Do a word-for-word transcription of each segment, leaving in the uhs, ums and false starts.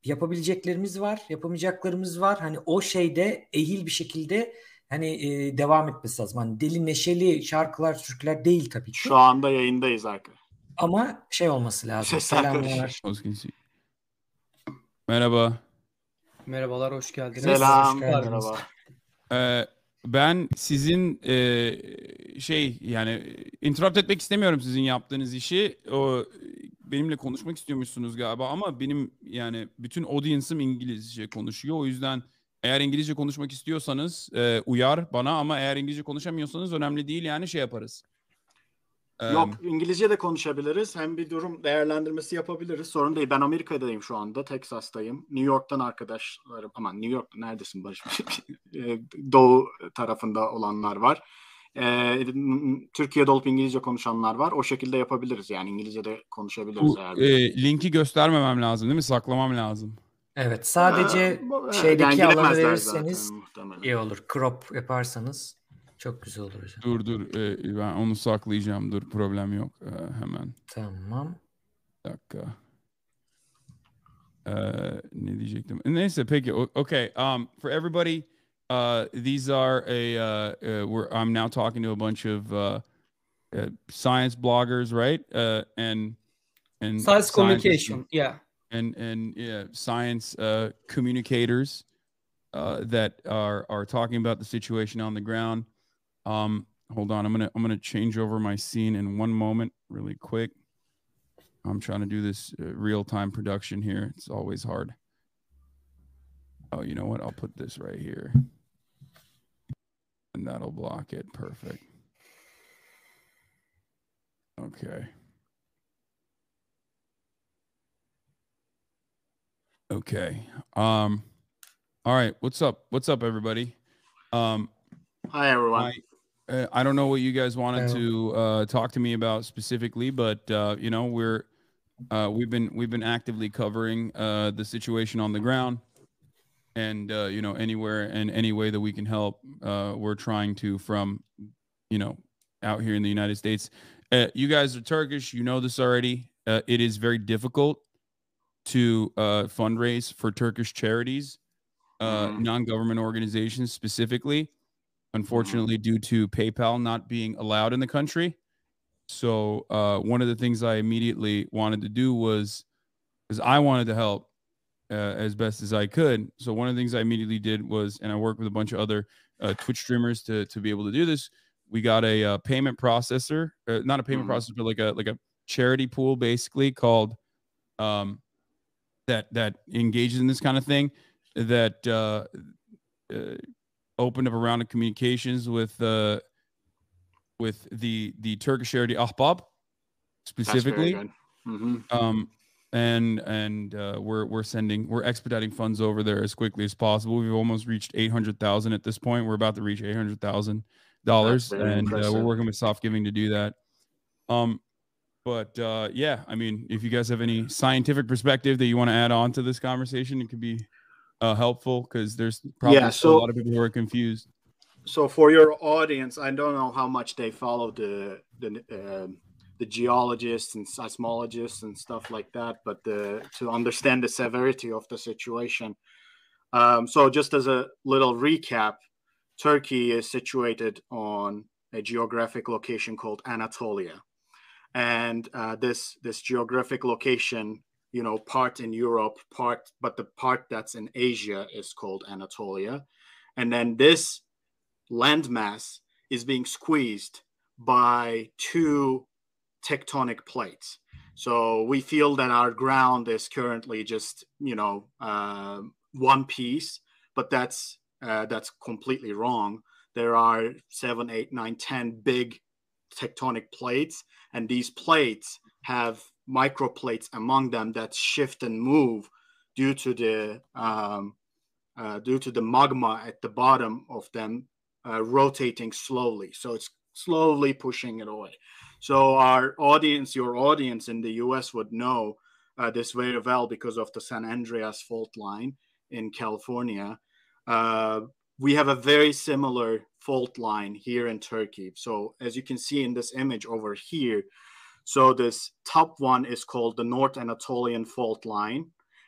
yapabileceklerimiz var, yapamayacaklarımız var. Hani o şeyde ehil bir şekilde hani e, devam etmesi lazım. Hani deli neşeli şarkılar, türküler değil tabii Şu ki. anda yayındayız arkadaşlar. Ama şey olması lazım. Sesler Selamlar. Merhaba. Merhabalar, hoş geldiniz. Selam, Hoş geldiniz. merhaba. Ee, ben sizin e, şey yani interrupt etmek istemiyorum sizin yaptığınız işi. O benimle konuşmak istiyormuşsunuz galiba ama benim yani bütün audience'ım İngilizce konuşuyor. O yüzden eğer İngilizce konuşmak istiyorsanız e, uyar bana ama eğer İngilizce konuşamıyorsanız önemli değil yani şey yaparız. Yok, İngilizce de konuşabiliriz. Hem bir durum değerlendirmesi yapabiliriz. Sorun değil. Ben Amerika'dayım şu anda. Texas'tayım. New York'tan arkadaşlarım. Aman New York neredesin Barış? Doğu tarafında olanlar var. Ee, Türkiye'de olup İngilizce konuşanlar var. O şekilde yapabiliriz. Yani İngilizce de konuşabiliriz. Bu, eğer e, linki göstermemem lazım değil mi? Saklamam lazım. Evet, sadece Ee, şeydeki yani alanı bilemezler verirseniz zaten muhtemelen. iyi olur. Crop yaparsanız çok güzel olur hocam. Dur dur e, ben onu saklayacağım. Dur problem yok. E, hemen. Tamam. Bir dakika. Ee, ne diyecektim? Neyse peki. o- Okay. Um, for everybody, uh, these are a. Uh, uh, we're, I'm now talking to a bunch of uh, uh, science bloggers, right? Uh, and and Science scientists communication, and yeah. and, and yeah, science uh, communicators uh, that are are talking about the situation on the ground. Um, hold on, I'm gonna I'm gonna change over my scene in one moment, really quick. I'm trying to do this uh, real-time production here. It's always hard. Oh, you know what? I'll put this right here. And that'll block it. Perfect. Okay. Okay. Um, all right. What's up? What's up, everybody? Um, Hi, everyone. I, uh, I don't know what you guys wanted Hello. to uh, talk to me about specifically, but uh, you know, we're uh, we've been we've been actively covering uh, the situation on the ground, and uh, you know, anywhere and any way that we can help, uh, we're trying to. From you know, out here in the United States, uh, you guys are Turkish. You know this already. Uh, it is very difficult to uh, fundraise for Turkish charities, uh, Mhm. non-government organizations specifically. Unfortunately, due to PayPal not being allowed in the country. So uh, one of the things I immediately wanted to do was, because I wanted to help uh, as best as I could. So one of the things I immediately did was, and I worked with a bunch of other uh, Twitch streamers to to be able to do this. We got a uh, payment processor, uh, not a payment Mhm. processor, but like a like a charity pool, basically called um, that that engages in this kind of thing. That uh, uh, opened up a round of communications with uh, with the the Turkish charity Ahbab That's very specifically. good. Mhm. Um, and and uh, we're we're sending we're expediting funds over there as quickly as possible. We've almost reached eight hundred thousand at this point. We're about to reach eight hundred thousand dollars, That's very and uh, we're impressive. working with Soft Giving to do that. Um, but uh, yeah, I mean, if you guys have any scientific perspective that you want to add on to this conversation, it could be uh, helpful because there's probably Yeah, still a so lot of people who are confused. so for your audience, I don't know how much they follow the the um the geologists and seismologists and stuff like that, but the, to understand the severity of the situation. Um, so just as a little recap, Turkey is situated on a geographic location called Anatolia, and uh, this this geographic location, you know, part in Europe, part but the part that's in Asia is called Anatolia, and then this landmass is being squeezed by two tectonic plates. So we feel that our ground is currently just, you know, uh, one piece, but that's uh, that's completely wrong. There are seven, eight, nine, ten big tectonic plates, and these plates have microplates among them that shift and move due to the um, uh, due to the magma at the bottom of them uh, rotating slowly. So it's slowly pushing it away. So our audience, your audience in the U S would know uh, this very well because of the San Andreas fault line in California. Uh, we have a very similar fault line here in Turkey. So as you can see in this image over here, so this top one is called the North Anatolian fault line.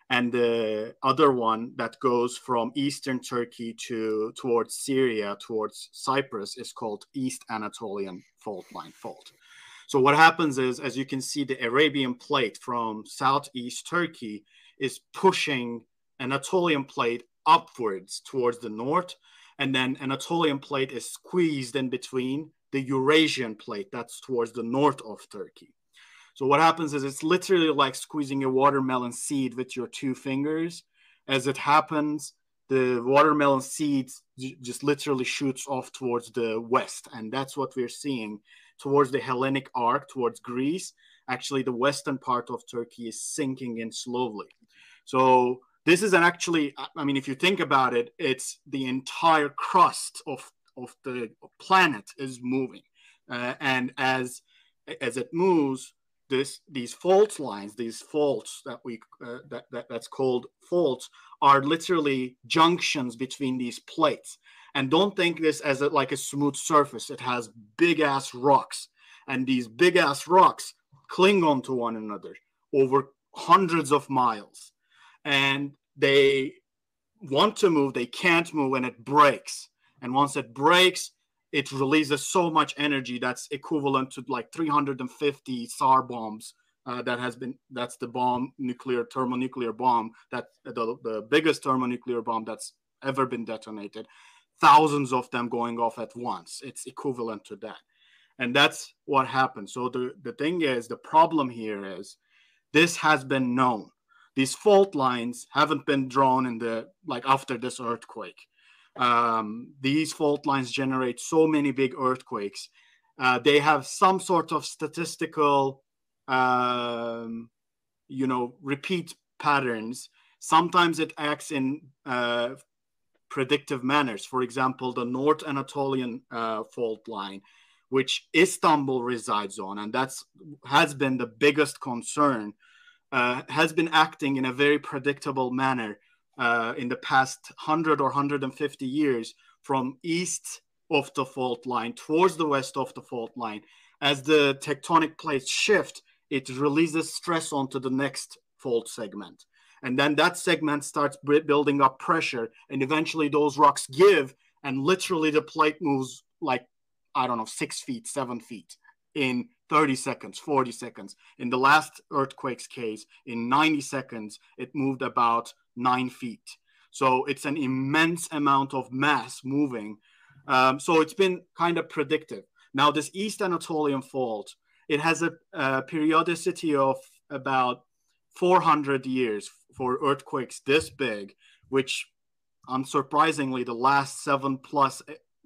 And the other one that goes from eastern Turkey to towards Syria, towards Cyprus, is called East Anatolian Fault Line fault. So what happens is, as you can see, the Arabian plate from southeast Turkey is pushing Anatolian plate upwards towards the north, and then Anatolian plate is squeezed in between the Eurasian plate that's towards the north of Turkey. So what happens is it's literally like squeezing a watermelon seed with your two fingers. As it happens, the watermelon seeds just literally shoots off towards the west, and that's what we're seeing towards the Hellenic arc, towards Greece. Actually, the western part of Turkey is sinking in slowly. So this is an actually, I mean, if you think about it, it's the entire crust of, of the planet is moving. Uh, and as, as it moves, this, these fault lines, these faults that we, uh, that, that that's called faults, are literally junctions between these plates. And don't think this as a, like a smooth surface. It has big ass rocks, and these big ass rocks cling on to one another over hundreds of miles. And they want to move, they can't move, and it breaks. And once it breaks, it releases so much energy that's equivalent to like three hundred fifty S A R bombs. Uh, that has been, that's the bomb, nuclear, thermonuclear bomb, that the, the biggest thermonuclear bomb that's ever been detonated. Thousands of them going off at once. It's equivalent to that. And that's what happened. So the, the thing is, the problem here is this has been known. These fault lines haven't been drawn in the, like after this earthquake. Um, these fault lines generate so many big earthquakes. Uh, they have some sort of statistical, um, you know, repeat patterns. Sometimes it acts in uh, predictive manners. For example, the North Anatolian uh, fault line, which Istanbul resides on, and that's has been the biggest concern, uh, has been acting in a very predictable manner uh, in the past one hundred or one hundred fifty years from east of the fault line towards the west of the fault line. As the tectonic plates shift, it releases stress onto the next fault segment. And then that segment starts building up pressure, and eventually those rocks give, and literally the plate moves like, I don't know, six feet, seven feet in thirty seconds, forty seconds. In the last earthquake's case, in ninety seconds, it moved about nine feet. So it's an immense amount of mass moving. Um, so it's been kind of predictive. Now, this East Anatolian fault, it has a, a periodicity of about four hundred years for earthquakes this big, which unsurprisingly, the last seven plus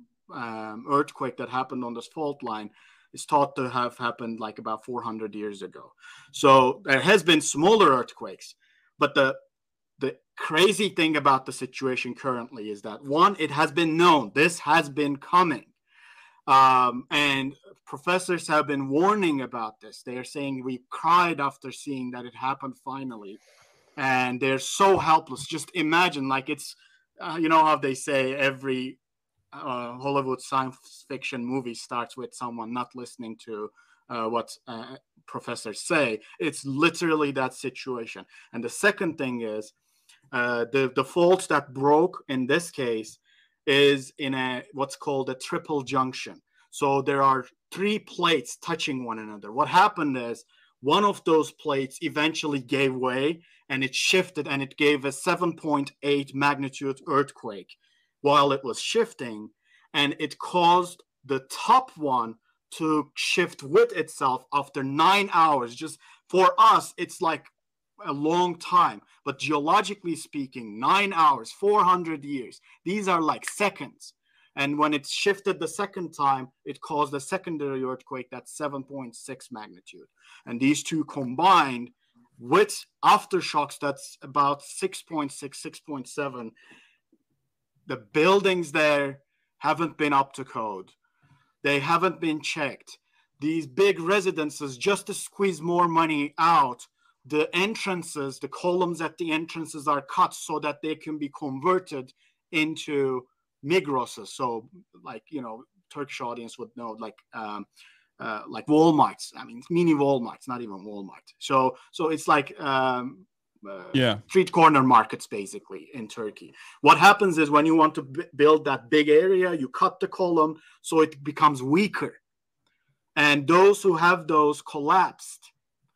um, earthquake that happened on this fault line is thought to have happened like about four hundred years ago. So there has been smaller earthquakes, but the the crazy thing about the situation currently is that, one, it has been known, this has been coming. Um, and professors have been warning about this. They are saying we cried after seeing that it happened finally. And they're so helpless. Just imagine, like it's, uh, you know how they say every uh, Hollywood science fiction movie starts with someone not listening to uh, what uh, professors say. It's literally that situation. And the second thing is uh, the, the fault that broke in this case is in a what's called a triple junction. So there are three plates touching one another. What happened is one of those plates eventually gave way, and it shifted, and it gave a seven point eight magnitude earthquake while it was shifting, and it caused the top one to shift with itself after nine hours. Just for us, it's like a long time, but geologically speaking, nine hours, four hundred years, these are like seconds. And when it shifted the second time, it caused a secondary earthquake that's seven point six magnitude. And these two combined with aftershocks that's about six point six, six point seven, the buildings there haven't been up to code. They haven't been checked. These big residences, just to squeeze more money out, the entrances, the columns at the entrances are cut so that they can be converted into Migroses. So, like, you know, Turkish audience would know, like, um, uh, like Walmarts. I mean, mini Walmarts, not even Walmart. So, so it's like um, uh, Yeah. street corner markets, basically, in Turkey. What happens is when you want to b- build that big area, you cut the column so it becomes weaker. And those who have those collapsed.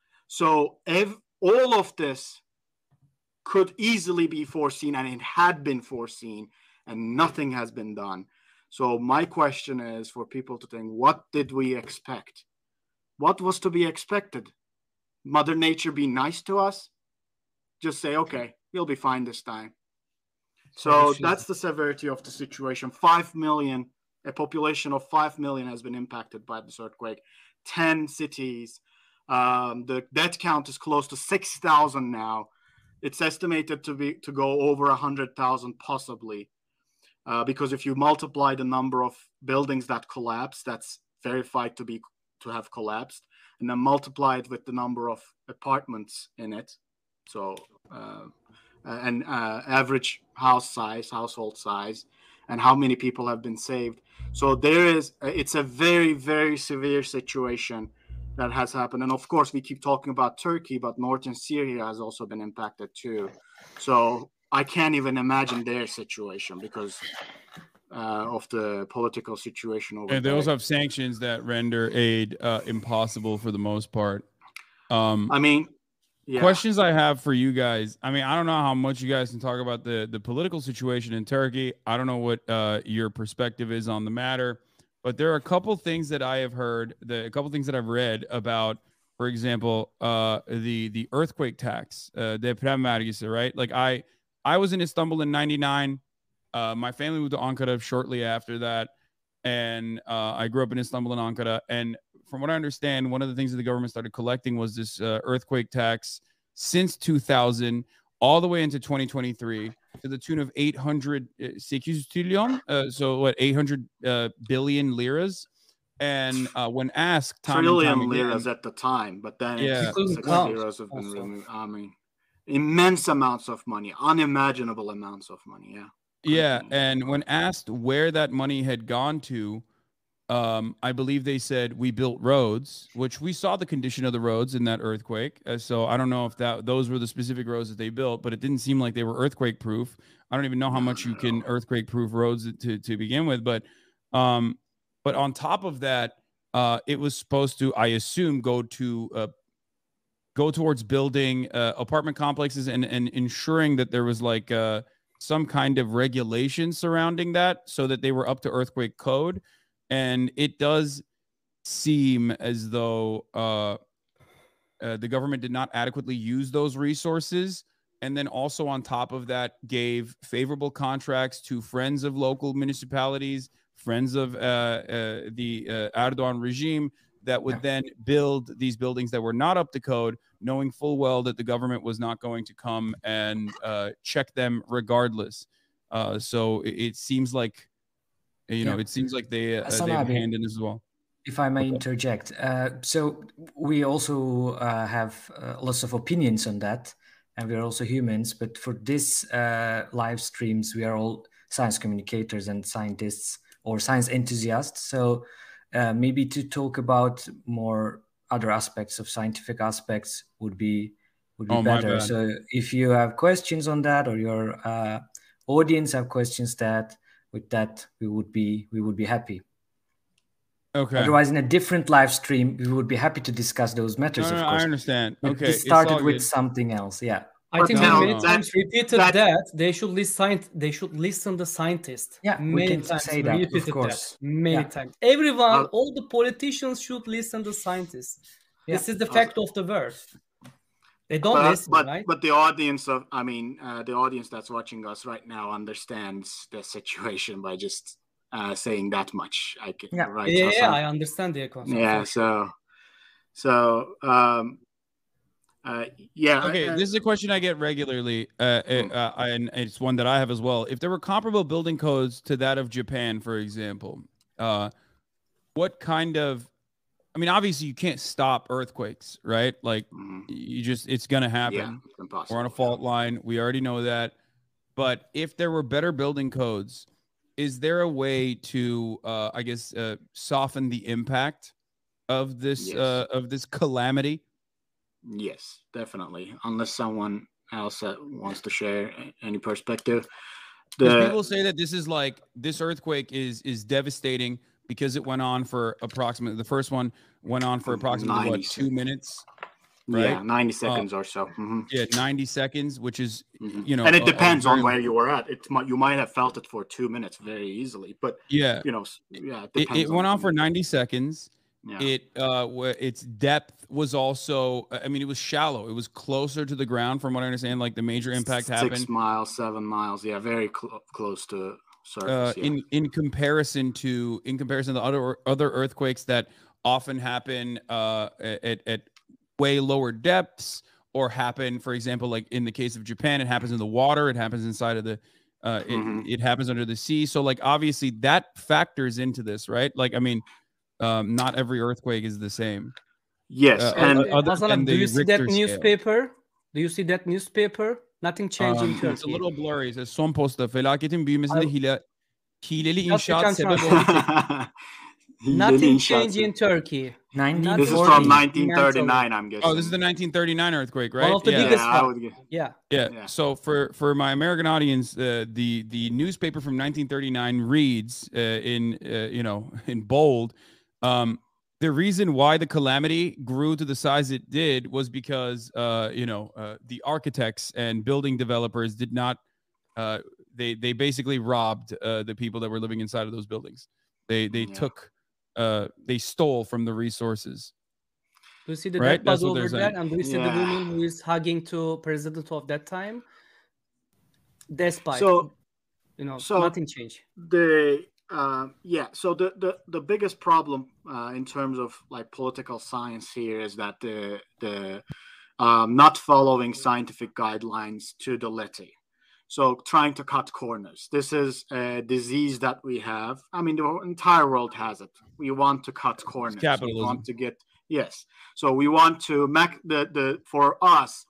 So ev- all of this could easily be foreseen, and it had been foreseen, and nothing has been done. So my question is for people to think, what did we expect? What was to be expected? Mother Nature be nice to us? Just say, okay, we'll be fine this time. So that's the severity of the situation. Five million, a population of five million has been impacted by this earthquake. Ten cities. Um, the death count is close to six thousand now. It's estimated to be to go over one hundred thousand possibly. Uh, because if you multiply the number of buildings that collapsed, that's verified to be to have collapsed, and then multiply it with the number of apartments in it. So, uh, and uh, average house size, household size, and how many people have been saved. So there is, it's a very, very severe situation that has happened. And of course, we keep talking about Turkey, but northern Syria has also been impacted too. So I can't even imagine their situation because uh, of the political situation over And they there. also have sanctions that render aid uh, impossible for the most part. Um, I mean, yeah. Questions I have for you guys. I mean, I don't know how much you guys can talk about the, the political situation in Turkey. I don't know what uh, your perspective is on the matter, but there are a couple things that I have heard, the, a couple things that I've read about, for example, uh, the the earthquake tax, uh, deprem vergisi, right? Like I, I was in Istanbul in ninety-nine. Uh, my family moved to Ankara shortly after that. And uh, I grew up in Istanbul and Ankara. And from what I understand, one of the things that the government started collecting was this uh, earthquake tax since two thousand all the way into twenty twenty-three to the tune of eight hundred, sekiz trilyon, uh, so what, eight hundred uh, billion liras. And uh, when asked time trillion and time again, liras at the time, but then yeah, it's six count liras have been also. removed. I mean, immense amounts of money, unimaginable amounts of money. Yeah. yeah. Continue. And when asked where that money had gone to, Um, I believe they said we built roads, which we saw the condition of the roads in that earthquake. Uh, so I don't know if that those were the specific roads that they built, but it didn't seem like they were earthquake proof. I don't even know how No, much you no, can no. earthquake proof roads to to begin with. But um, but on top of that, uh, it was supposed to, I assume, go to uh, go towards building uh, apartment complexes and and ensuring that there was like uh, some kind of regulation surrounding that, so that they were up to earthquake code. And it does seem as though uh, uh, the government did not adequately use those resources. And then also on top of that, gave favorable contracts to friends of local municipalities, friends of uh, uh, the uh, Erdogan regime that would then build these buildings that were not up to code, knowing full well that the government was not going to come and uh, check them regardless. Uh, so it, it seems like You know, Yeah. it seems like they uh, Hasan they have a abi, hand in this as well. if I may Okay. interject. Uh, so we also uh, have uh, lots of opinions on that, and we're also humans. But for this uh, live streams, we are all science communicators and scientists or science enthusiasts. So uh, maybe to talk about more other aspects of scientific aspects would be would be Oh, my better. bad. So if you have questions on that, or your uh, audience have questions that with that, we would be we would be happy. Okay. Otherwise, in a different live stream, we would be happy to discuss those No, matters, no, of no, course. I understand. But Okay, this it's started all with good. something else. Yeah. I But think No, we no, many no. times repeated that- that, they should listen. They should listen the scientists. Yeah, we many can times say we that, of repeated course. that many Yeah. times. Everyone, Uh, all the politicians should listen to scientists. This Yeah. is the fact of the world. They don't But, listen, but, right? but the audience of, I mean, uh, the audience that's watching us right now understands the situation by just uh, saying that much. I can, Yeah. right? yeah, yeah, Hasan? I understand their concern. Yeah. for sure. So, so, um, uh, yeah. Okay, uh, this is a question I get regularly, uh, Hmm. uh, and it's one that I have as well. If there were comparable building codes to that of Japan, for example, uh, what kind of, I mean, obviously you can't stop earthquakes, right? Like Mhm. you just, it's going to Yeah, happen. it's impossible. We're on a yeah. fault line. We already know that. But if there were better building codes, is there a way to, uh, I guess, uh, soften the impact of this Yes. uh, of this calamity? Yes, definitely. Unless someone else that wants to share any perspective. Because The, people say that this is like this earthquake is is devastating because it went on for approximately the first one went on for approximately what two seconds. minutes, right? Yeah, ninety seconds uh, or so. Mm-hmm. Yeah, ninety seconds, which is mm-hmm. you know, and it a, depends a on where you were at. It you might have felt it for two minutes very easily, but yeah, you know, yeah, it, it, it on went on for ninety seconds. Yeah. It uh, its depth was also, I mean, it was shallow. It was closer to the ground, from what I understand. Like the major impact Six happened six miles, seven miles. Yeah, very cl- close to surface. Uh, yeah. in in comparison to in comparison to other other earthquakes that often happen uh, at at way lower depths, or happen, for example, like in the case of Japan, it happens in the water. It happens inside of the. Uh, it, mm-hmm. it happens under the sea. So, like, obviously, that factors into this, right? Like, I mean. Um, not every earthquake is the same. Yes, uh, and other Hasan, than do you the see Richter that newspaper? Scale. Do you see that newspaper? Nothing changed um, in Turkey. It's a little blurry. It says son posta felaketin büyümesinde hile, hileli Just you inşaat can sebep translate. oldu. Nothing changed in Turkey. nineteen This is from nineteen thirty-nine, I'm guessing. Oh, this is the nineteen thirty-nine earthquake, right? One of the yeah. biggest yeah, one. Yeah. yeah. Yeah. So for for my American audience, uh, the the newspaper from nineteen thirty-nine reads uh, in uh, you know in bold. Um, The reason why the calamity grew to the size it did was because, uh, you know, uh, the architects and building developers did not. Uh, they they basically robbed uh, the people that were living inside of those buildings. They they yeah. took, uh, they stole from the resources. Do you see the right? dead body over there? And do you see yeah. the woman who is hugging to president of that time? Despite, so, you know, so nothing changed. The Uh, yeah, so the, the, the biggest problem uh, in terms of like political science here is that the the um, not following scientific guidelines to the letter. So trying to cut corners. This is a disease that we have. I mean, the entire world has it. We want to cut corners. It's capitalism. We want to get yes. So we want to make the the for us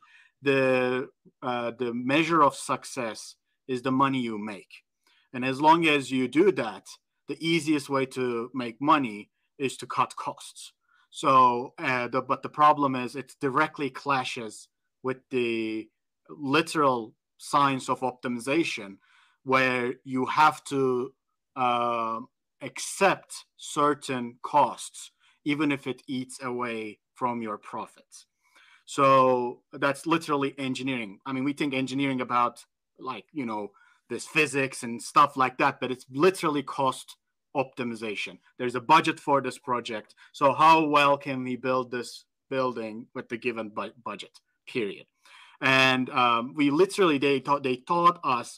the uh, the measure of success is the money you make. And as long as you do that, the easiest way to make money is to cut costs. So, uh, the, but the problem is it directly clashes with the literal science of optimization, where you have to uh, accept certain costs, even if it eats away from your profits. So that's literally engineering. I mean, we think engineering about like, you know, this physics and stuff like that, but it's literally cost optimization. There's a budget for this project. So how well can we build this building with the given bu- budget, period? And um, we literally, they taught, they taught us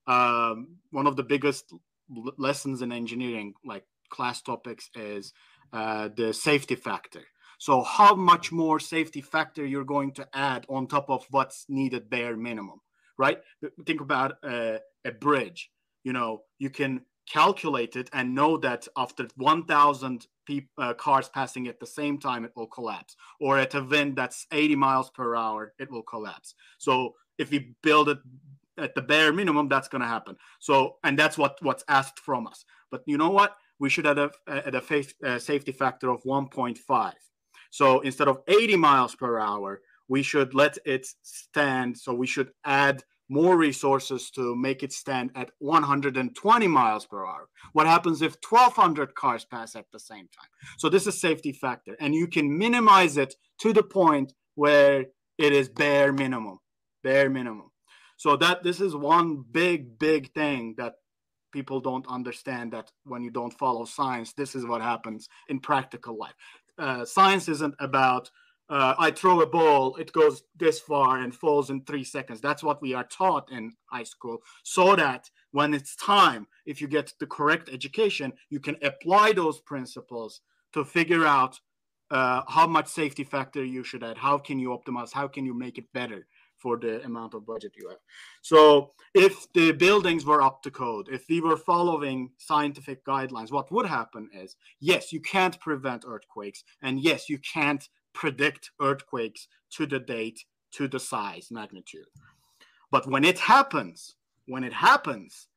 um, one of the biggest l- lessons in engineering, like class topics, is uh, the safety factor. So how much more safety factor you're going to add on top of what's needed bare minimum, right? Think about uh, a bridge. You know, you can calculate it and know that after one thousand pe- uh, cars passing at the same time, it will collapse. Or at a wind that's eighty miles per hour, it will collapse. So if we build it at the bare minimum, that's going to happen. So, and that's what, what's asked from us. But you know what? We should have a, at a fa- uh, safety factor of one point five. So instead of eighty miles per hour, we should let it stand. So we should add more resources to make it stand at one hundred twenty miles per hour. What happens if twelve hundred cars pass at the same time? So this is safety factor, and you can minimize it to the point where it is bare minimum, bare minimum. So that this is one big, big thing that people don't understand, that when you don't follow science, this is what happens in practical life. Uh, science isn't about Uh, I throw a ball, it goes this far and falls in three seconds. That's what we are taught in high school, so that when it's time, if you get the correct education, you can apply those principles to figure out uh, how much safety factor you should add. How can you optimize? How can you make it better for the amount of budget you have? So if the buildings were up to code, if we were following scientific guidelines, what would happen is, yes, you can't prevent earthquakes. And yes, you can't predict earthquakes to the date, to the size, magnitude. But when it happens, when it happens,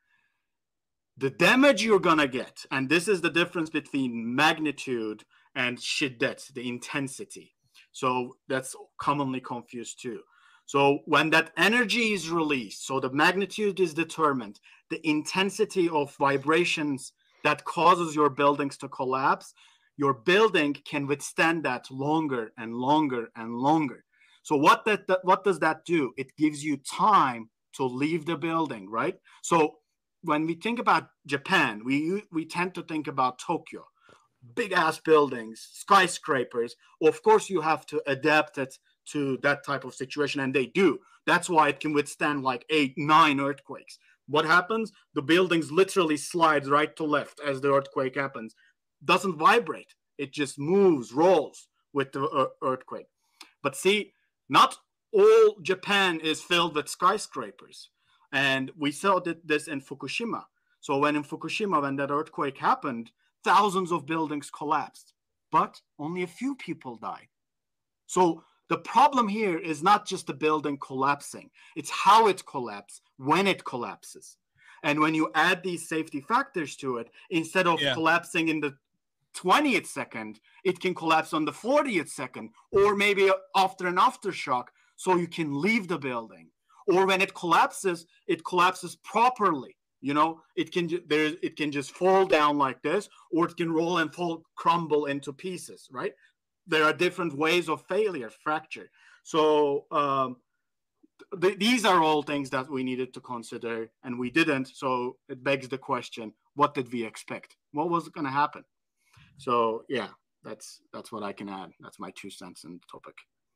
the damage you're gonna get, and this is the difference between magnitude and shiddet, the intensity. So that's commonly confused too. So when that energy is released, so the magnitude is determined, the intensity of vibrations that causes your buildings to collapse, your building can withstand that longer and longer and longer. So what that, that what does that do? It gives you time to leave the building, right? So when we think about Japan, we we tend to think about Tokyo, big ass buildings, skyscrapers. Of course, you have to adapt it to that type of situation, and they do. That's why it can withstand like eight, nine earthquakes. What happens? The buildings literally slides right to left as the earthquake happens. Doesn't vibrate. It just moves, rolls with the earthquake. But see, not all Japan is filled with skyscrapers. And we saw this in Fukushima. So when in Fukushima, when that earthquake happened, thousands of buildings collapsed, but only a few people died. So the problem here is not just the building collapsing. It's how it collapses, when it collapses. And when you add these safety factors to it, instead of yeah. collapsing in the twentieth second, it can collapse on the fortieth second, or maybe after an aftershock, so you can leave the building. Or when it collapses, it collapses properly. You know, it can there it can just fall down like this, or it can roll and fall, crumble into pieces, right? There are different ways of failure, fracture. So um, th- these are all things that we needed to consider, and we didn't. So it begs the question: what did we expect? What was going to happen? So yeah, that's that's what I can add. That's my two cents in the topic.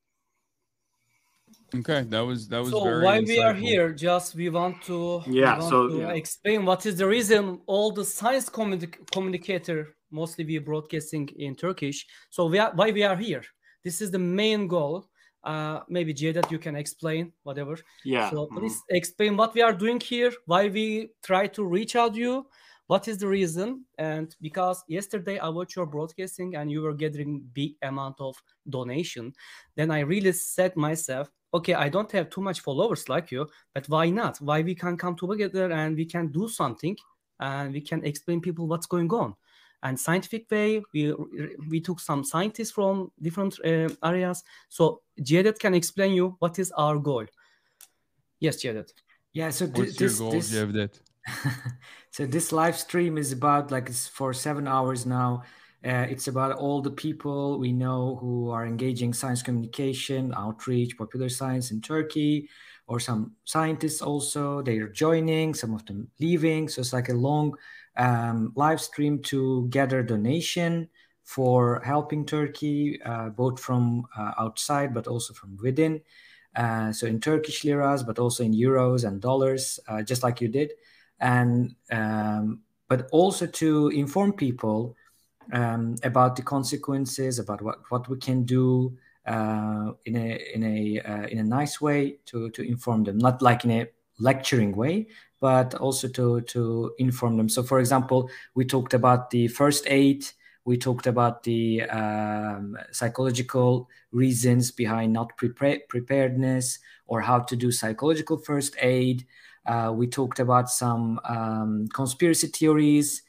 Okay, that was that was so very why insightful. We are here, just we want to yeah we want so to yeah. explain what is the reason all the science communi- communicator, mostly we broadcasting in Turkish, so we are, why we are here. This is the main goal. Uh maybe Cevdet, you can explain whatever. Yeah so mm-hmm. Please explain what we are doing here, why we try to reach out to you, what is the reason. And because yesterday I watched your broadcasting and you were gathering big amount of donation, then I really said myself, okay, I don't have too much followers like you, but why not? Why we can come together and we can do something and we can explain people what's going on. And scientific way, we we took some scientists from different uh, areas. So Cevdet can explain you what is our goal. Yes, Cevdet. Yeah, so th- What's this, your goal, this... Cevdet? So this live stream is about, like, it's for seven hours now. Uh, it's about all the people we know who are engaging science communication, outreach, popular science in Turkey, or some scientists also. They are joining, some of them leaving. So it's like a long um, live stream to gather donation for helping Turkey, uh, both from uh, outside, but also from within. Uh, so in Turkish liras, but also in euros and dollars, uh, just like you did. And um, but also to inform people um, about the consequences, about what, what we can do uh, in a in a uh, in a nice way to to inform them, not like in a lecturing way, but also to to inform them. So, for example, we talked about the first aid. We talked about the um, psychological reasons behind not prepare- preparedness, or how to do psychological first aid. Uh, we talked about some um, conspiracy theories,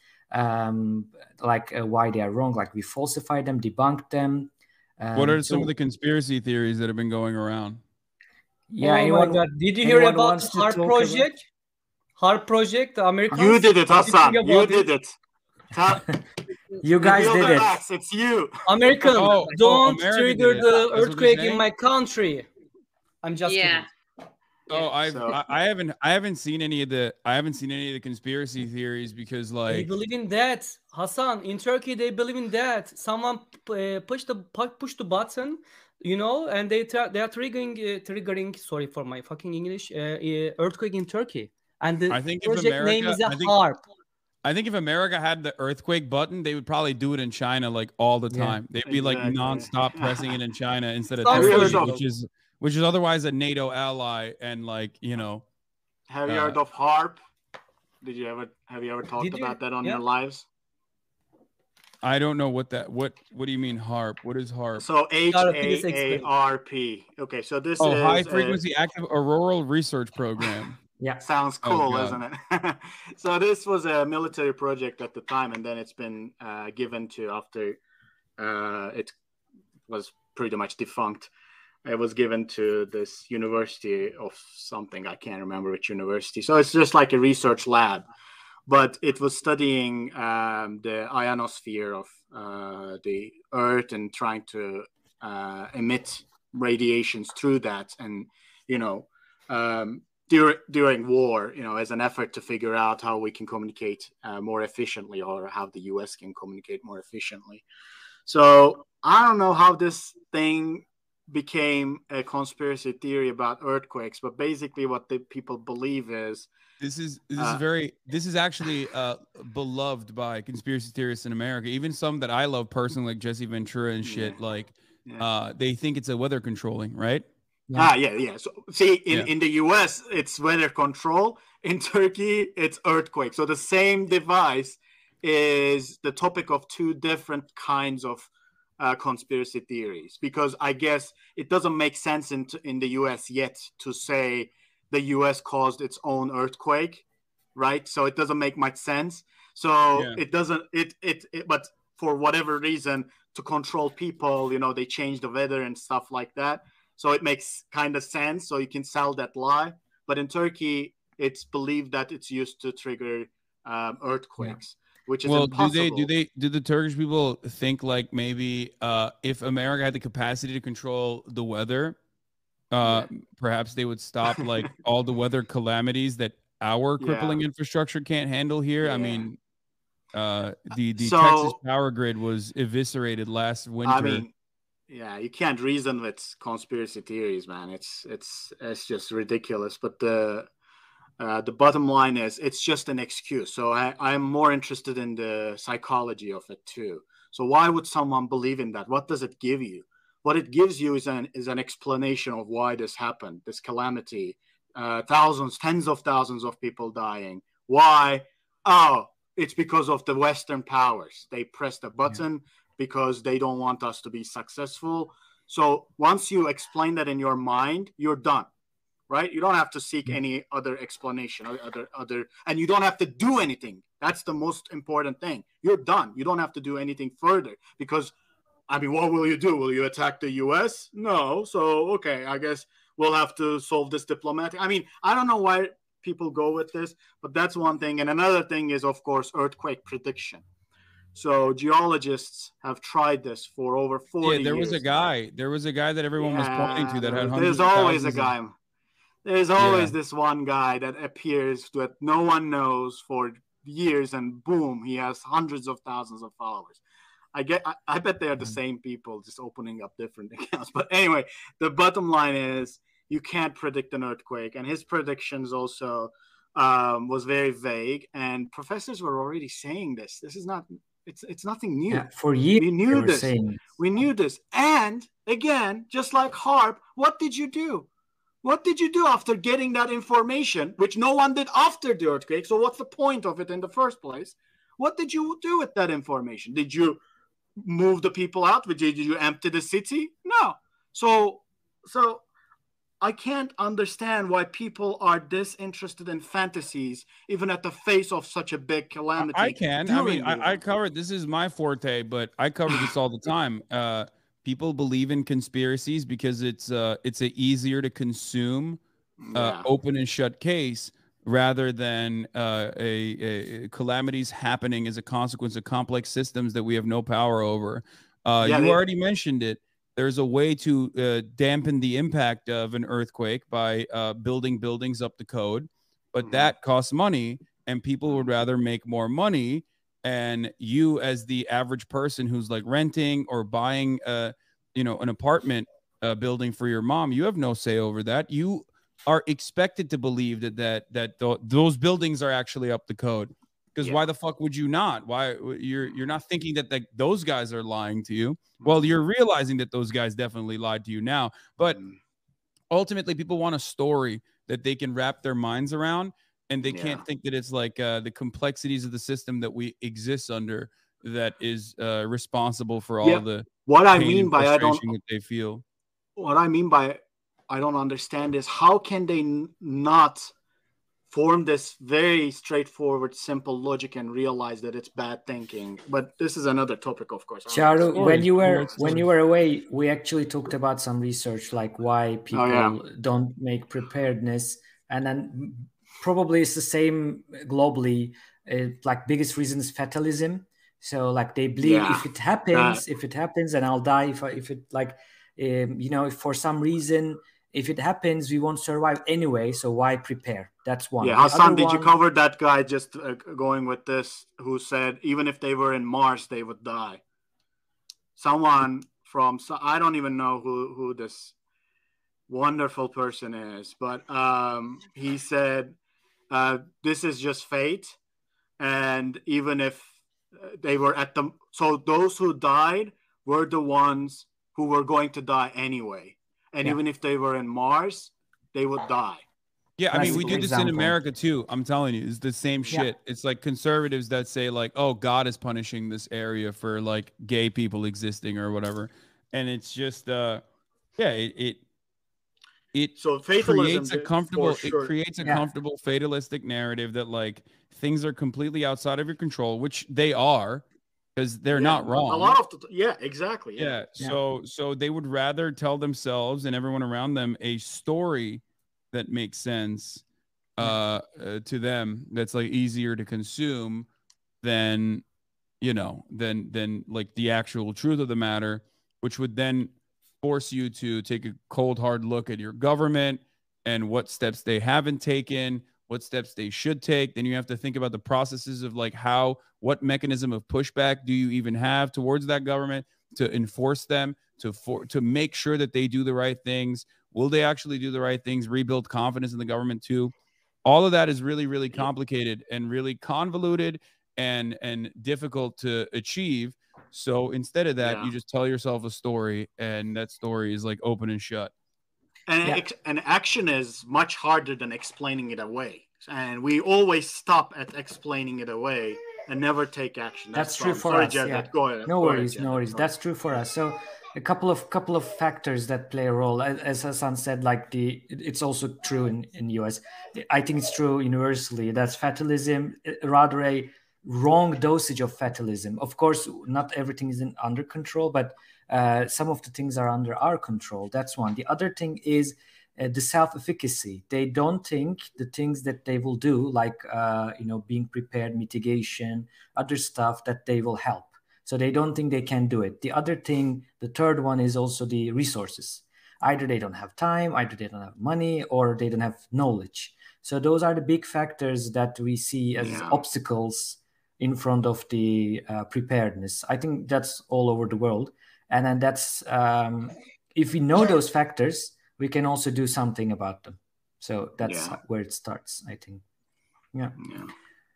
um, like uh, why they are wrong, like we falsified them, debunked them. Um, what are so, some of the conspiracy theories that have been going around? Yeah, oh anyone, my God. Did you hear about the HARP project? About... HARP project, the Americans? You did it, Hassan. You, you did it. it. Ta- you guys did it. Axe, it's you. Americans, oh, don't oh, trigger the earthquake in my country. I'm just yeah. kidding. Oh, I've so. I, I haven't I haven't seen any of the I haven't seen any of the conspiracy theories because like they believe in that, Hassan. In Turkey, they believe in that. Someone uh, push the push the button, you know, and they tra- they are triggering uh, triggering. Sorry for my fucking English. Uh, uh, earthquake in Turkey, and the I think project if America, name is a I think, HARP. I think if America had the earthquake button, they would probably do it in China like all the time. Yeah, They'd be exactly. like nonstop pressing it in China instead of Turkey, which is. Which is otherwise a NATO ally, and like you know. Have you uh, heard of HARP? Did you ever have you ever talked you, about that on yeah. your lives? I don't know what that. What What do you mean HARP? What is HARP? So H A A R P. Okay, so this oh, is high frequency a... active auroral research program. Yeah, sounds cool, oh, isn't it? So this was a military project at the time, and then it's been uh, given to after uh, it was pretty much defunct. It was given to this university of something. I can't remember which university. So it's just like a research lab, but it was studying um, the ionosphere of uh, the Earth and trying to uh, emit radiations through that. And, you know, um, dur- during war, you know, as an effort to figure out how we can communicate uh, more efficiently, or how the U S can communicate more efficiently. So I don't know how this thing became a conspiracy theory about earthquakes, but basically what the people believe is this is this uh, is very this is actually uh beloved by conspiracy theorists in America, even some that I love personally, like Jesse Ventura and shit. Yeah. Like Yeah. uh they think it's a weather controlling, right? Yeah. Ah, yeah, yeah. So see, in, Yeah. in the U S, it's weather control. In Turkey, it's earthquake. So the same device is the topic of two different kinds of uh, conspiracy theories, because I guess it doesn't make sense in, in the U S yet to say the U S caused its own earthquake, right? So it doesn't make much sense. So Yeah. it doesn't, it, it, it, but for whatever reason, to control people, you know, they change the weather and stuff like that. So it makes kind of sense. So you can sell that lie. But in Turkey, it's believed that it's used to trigger um, earthquakes. Yeah. Which is well, impossible. do they do they do the Turkish people think like maybe uh, if America had the capacity to control the weather, uh, yeah. perhaps they would stop like all the weather calamities that our crippling yeah. infrastructure can't handle here? Yeah. I mean, uh, the the so, Texas power grid was eviscerated last winter. I mean, yeah, you can't reason with conspiracy theories, man. It's it's it's just ridiculous. But the Uh, the bottom line is it's just an excuse. So I, I'm more interested in the psychology of it too. So why would someone believe in that? What does it give you? What it gives you is an is an explanation of why this happened, this calamity, uh, thousands, tens of thousands of people dying. Why? Oh, it's because of the Western powers. They pressed a button yeah. because they don't want us to be successful. So once you explain that in your mind, you're done. Right? You don't have to seek any other explanation or other, other, and you don't have to do anything. That's the most important thing. You're done. You don't have to do anything further because, I mean, what will you do? Will you attack the U S? No. So, okay, I guess we'll have to solve this diplomatic. I mean, I don't know why people go with this, but that's one thing. And another thing is, of course, earthquake prediction. So geologists have tried this for over forty years. Yeah, there was a guy. There was a guy that everyone yeah, was pointing to that had hundreds There's of always a guy. Of... There's always yeah. this one guy that appears that no one knows for years, and boom, he has hundreds of thousands of followers. I get, I, I bet they are the same people just opening up different accounts. But anyway, the bottom line is you can't predict an earthquake, and his predictions also um, was very vague. And professors were already saying this. This is not. It's it's nothing new. Yeah, for years we knew this. Saying... We knew this. And again, just like HAARP, what did you do? What did you do after getting that information, which no one did after the earthquake? So what's the point of it in the first place? What did you do with that information? Did you move the people out? Did you empty the city? No. So, so I can't understand why people are disinterested in fantasies, even at the face of such a big calamity. I can. I mean, I, I covered, this is my forte, but I cover this all the time. Uh, People believe in conspiracies because it's uh it's a easier to consume uh, yeah. open and shut case rather than uh, a, a calamities happening as a consequence of complex systems that we have no power over. Uh, yeah, you they... already mentioned it. There's a way to uh, dampen the impact of an earthquake by uh, building buildings up the code, but mm-hmm. that costs money, and people would rather make more money. And you, as the average person who's like renting or buying, uh, you know, an apartment uh, building for your mom, you have no say over that. You are expected to believe that that that th- those buildings are actually up the code. Because yeah. why the fuck would you not? Why you're you're not thinking that the, those guys are lying to you? Well, you're realizing that those guys definitely lied to you now. But ultimately, people want a story that they can wrap their minds around. And they yeah. can't think that it's like uh, the complexities of the system that we exist under that is uh, responsible for all yeah. the what I mean by I don't that they feel. What I mean by I don't understand is how can they n- not form this very straightforward, simple logic and realize that it's bad thinking. But this is another topic, of course. Charu, Stories, when you were stories. when you were away, we actually talked about some research, like why people yeah. don't make preparedness, and then probably it's the same globally. Uh, like biggest reason is fatalism. So like they believe Yeah. if it happens, That- if it happens, and I'll die. If I, if it like, um, you know, if for some reason. If it happens, we won't survive anyway. So why prepare? That's one. Yeah, The Hassan, other did you one- cover that guy just uh, going with this who said even if they were in Mars, they would die? Someone from, so I don't even know who, who this wonderful person is, but um, he said uh, this is just fate. And even if they were at the, so those who died were the ones who were going to die anyway. And Yeah. even if they were in Mars, they would die. Yeah, I Nice mean, we do this in example. America too. I'm telling you, it's the same Yeah. shit. It's like conservatives that say like, "Oh, God is punishing this area for like gay people existing or whatever," and it's just, uh, yeah, it it, it So fatalism creates a did- comfortable, for sure. it creates a Yeah. comfortable fatalistic narrative that like things are completely outside of your control, which they are, because they're Yeah, not wrong. A lot of the, yeah, exactly. Yeah. Yeah. Yeah. So so they would rather tell themselves and everyone around them a story that makes sense uh, uh to them, that's like easier to consume than, you know, than than like the actual truth of the matter, which would then force you to take a cold hard look at your government and what steps they haven't taken, what steps they should take. Then you have to think about the processes of like how, what mechanism of pushback do you even have towards that government to enforce them, to for, to make sure that they do the right things. Will they actually do the right things? Rebuild confidence in the government too. All of that is really, really complicated and really convoluted and and difficult to achieve. So instead of that, Yeah. you just tell yourself a story, and that story is like open and shut. And Yeah. ex- and action is much harder than explaining it away. And we always stop at explaining it away and never take action. That's the true problem. for Sorry, us. Jed, Yeah. Go ahead. No Go ahead, worries, Jed. no worries. Sorry. That's true for us. So a couple of couple of factors that play a role. As, as Hassan said, like the it- it's also true in in U S. I think it's true universally. That's fatalism, uh, rather a wrong dosage of fatalism. Of course, not everything is in, under control, but uh, some of the things are under our control. That's one. The other thing is uh, the self-efficacy. They don't think the things that they will do, like uh, you know, being prepared, mitigation, other stuff, that they will help. So they don't think they can do it. The other thing, the third one, is also the resources. Either they don't have time, either they don't have money, or they don't have knowledge. So those are the big factors that we see as Yeah. obstacles in front of the uh, preparedness. I think that's all over the world. And then that's, um, if we know those factors, we can also do something about them. So that's Yeah. where it starts, I think. Yeah. Yeah.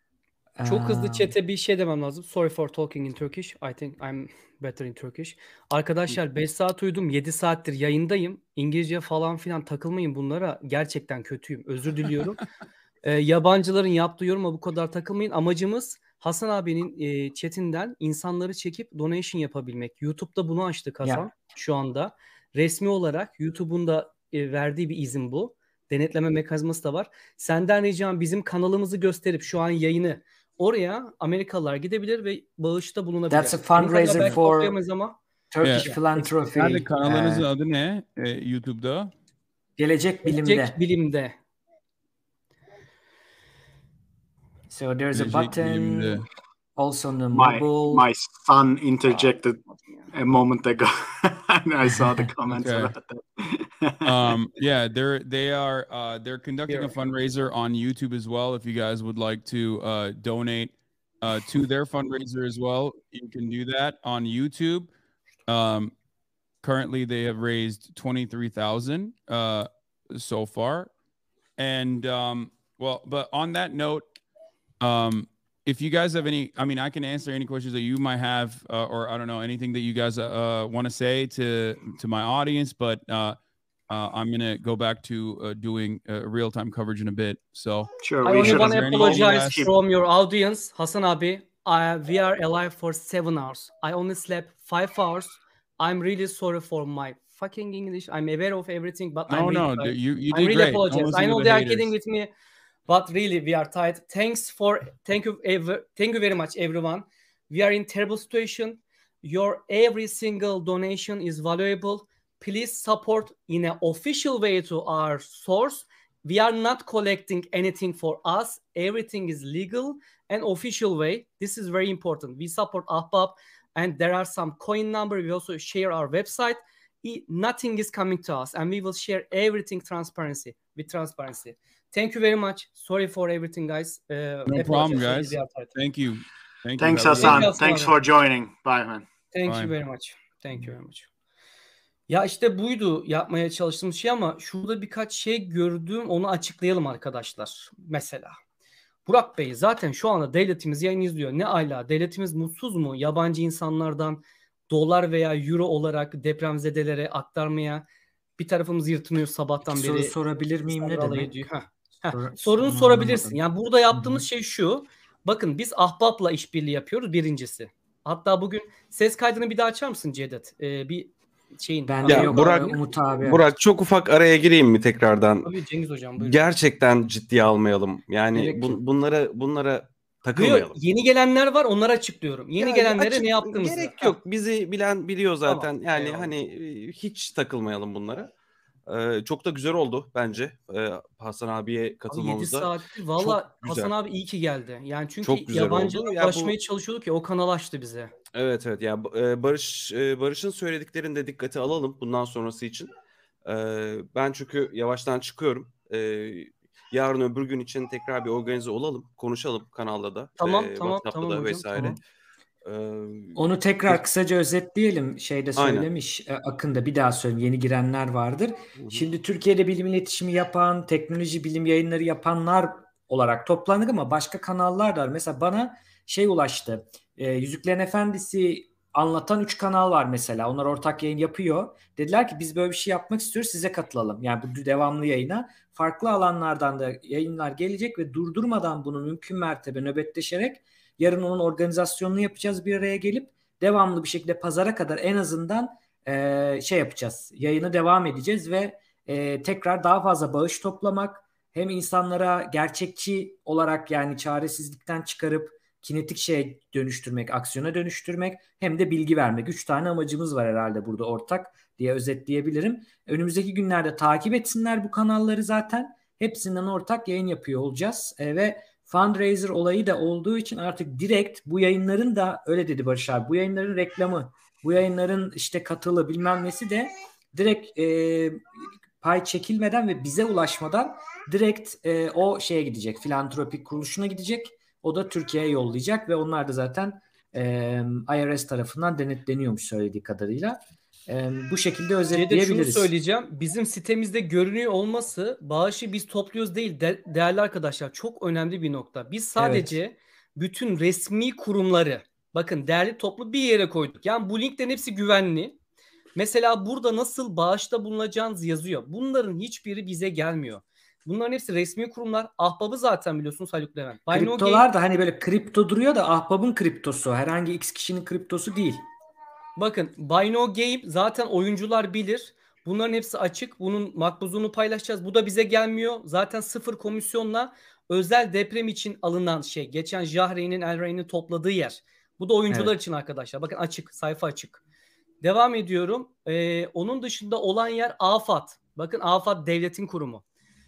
Çok hızlı Um, chat'e bir şey demem lazım. Sorry for talking in Turkish. I think I'm better in Turkish. Arkadaşlar beş saat uyudum. yedi saattir yayındayım. İngilizce falan filan takılmayın bunlara. Gerçekten kötüyüm. Özür diliyorum. Ee, yabancıların yaptığı yoruma bu kadar takılmayın. Amacımız Hasan abinin e, chatinden insanları çekip donation yapabilmek. YouTube'da bunu açtık Hasan Yeah. şu anda. Resmi olarak YouTube'un da e, verdiği bir izin bu. Denetleme mekanizması da var. Senden ricam bizim kanalımızı gösterip şu an yayını oraya Amerikalılar gidebilir ve bağışta bulunabilir. That's a Benim kadar fundraiser belki for toplayamayız ama Turkish Yeah. Philanthropy. Nerede kanalınızın uh, adı ne? Ee, YouTube'da. Gelecek Bilim'de. gelecek bilimde. So there's a Gelecek button Bilim'de. also on the My mobile. my son interjected a moment ago, and I saw the comments Okay. about that. um yeah they're they are uh they're conducting Here. a fundraiser on YouTube as well. If you guys would like to uh donate uh to their fundraiser as well, you can do that on YouTube. Um currently they have raised twenty-three thousand uh so far. And um well, but on that note, um if you guys have any, I mean, I can answer any questions that you might have, uh, or I don't know, anything that you guys uh, want to say to to my audience. But uh, uh, I'm gonna go back to uh, doing uh, real time coverage in a bit. So Sure, I we only should. want Is to there any apologize last- from your audience, Hasan abi. I, we are alive for seven hours. I only slept five hours. I'm really sorry for my fucking English. I'm aware of everything, but I'm no, really no, tired. you you I did really great. Don't apologize. listen I to know the they are haters. kidding with me, But really, we are tired. Thanks for thank you ever thank you very much, everyone. We are in terrible situation. Your every single donation is valuable. Please support in an official way to our source. We are not collecting anything for us. Everything is legal and official way. This is very important. We support Ahbap, and there are some coin number. We also share our website. Nothing is coming to us, and we will share everything transparency with transparency. Thank you very much. Sorry for everything, guys. Uh, no problem, guys. Thank you. Thank Thanks, you, Hasan. Thank Thanks for joining. Bye, man. Thank Bye. you very much. Thank you very much. Ya işte buydu yapmaya çalıştığım şey, ama şurada birkaç şey gördüm, onu açıklayalım arkadaşlar. Mesela Burak Bey, zaten şu anda devletimiz yayın izliyor. Ne ala, devletimiz mutsuz mu? Yabancı insanlardan dolar veya euro olarak depremzedelere aktarmaya bir tarafımız yırtınıyor sabahtan Soru beri. Soru sorabilir miyim, ne demek? Heh. Heh. Sor- Sorunu sorabilirsin. Yani burada yaptığımız Hı-hı. şey şu. Bakın, biz Ahbap'la işbirliği yapıyoruz, birincisi. Hatta bugün ses kaydını bir daha açar mısın Cevdet? Ee, bir şeyin. Ben ya yok, Burak, Umut abi. Burak çok ufak araya gireyim mi tekrardan? Tabii Cengiz hocam, buyurun. Gerçekten ciddiye almayalım. Yani bu, bunlara bunlara takılmayalım. Diyor, yeni gelenler var, onlara açıklıyorum. Yeni ya, gelenlere açık, ne yaptığımızı. Gerek yok. Bizi bilen biliyor zaten. Tamam, yani eyvallah. Hani hiç takılmayalım bunlara. Ee, çok da güzel oldu bence ee, Hasan abiye katılmamızda. yedi saattir valla Hasan abi iyi ki geldi. Yani çünkü yabancılara ulaşmaya bu... çalışıyorduk ya, o kanal açtı bize. Evet evet ya yani, Barış Barış'ın söylediklerini de dikkate alalım bundan sonrası için. Ee, ben çünkü yavaştan çıkıyorum. Ee, yarın öbür gün için tekrar bir organize olalım, konuşalım kanalda da. Tamam e, tamam WhatsApp'ta tamam da hocam, vesaire. Tamam. Onu tekrar kısaca özetleyelim. Şeyde söylemiş Aynen. Akın'da, bir daha söyleyeyim, yeni girenler vardır. Hı-hı. Şimdi Türkiye'de bilim iletişimi yapan, teknoloji bilim yayınları yapanlar olarak toplandık, ama başka kanallar da var. Mesela bana şey ulaştı. E, Yüzüklerin Efendisi anlatan üç kanal var mesela. Onlar ortak yayın yapıyor. Dediler ki biz böyle bir şey yapmak istiyoruz, size katılalım. Yani bu devamlı yayına. Farklı alanlardan da yayınlar gelecek ve durdurmadan bunu mümkün mertebe nöbetleşerek yarın onun organizasyonunu yapacağız, bir araya gelip devamlı bir şekilde pazara kadar en azından e, şey yapacağız. Yayını devam edeceğiz ve e, tekrar daha fazla bağış toplamak, hem insanlara gerçekçi olarak, yani çaresizlikten çıkarıp kinetik şeye dönüştürmek, aksiyona dönüştürmek, hem de bilgi vermek. Üç tane amacımız var herhalde burada ortak diye özetleyebilirim. Önümüzdeki günlerde takip etsinler bu kanalları zaten. Hepsinden ortak yayın yapıyor olacağız e, ve fundraiser olayı da olduğu için artık direkt bu yayınların da, öyle dedi Barış abi, bu yayınların reklamı, bu yayınların işte katılı bilmem nesi de direkt e, pay çekilmeden ve bize ulaşmadan direkt e, o şeye gidecek, filantropik kuruluşuna gidecek. O da Türkiye'ye yollayacak ve onlar da zaten e, I R S tarafından denetleniyormuş söylediği kadarıyla. E, bu şekilde özetleyebiliriz. Şunu söyleyeceğim. Bizim sitemizde görünüyor olması, bağışı biz topluyoruz değil de, değerli arkadaşlar, çok önemli bir nokta. Biz sadece evet. bütün resmi kurumları, bakın, değerli toplu bir yere koyduk. Yani bu linklerin hepsi güvenli. Mesela burada nasıl bağışta bulunacağınız yazıyor. Bunların hiçbiri bize gelmiyor. Bunların hepsi resmi kurumlar. Ahbap'ı zaten biliyorsunuz Haluk Levent. Kriptolar Game... da hani böyle kripto duruyor da Ahbap'ın kriptosu. Herhangi X kişinin kriptosu değil. Bakın, Buy No Game zaten oyuncular bilir. Bunların hepsi açık. Bunun makbuzunu paylaşacağız. Bu da bize gelmiyor. Zaten sıfır komisyonla özel deprem için alınan şey. Geçen Jahreyn'in, Elreyn'in topladığı yer. Bu da oyuncular evet. için arkadaşlar. Bakın, açık. Sayfa açık. Devam ediyorum. Ee, onun dışında olan yer AFAD. Bakın, AFAD devletin kurumu.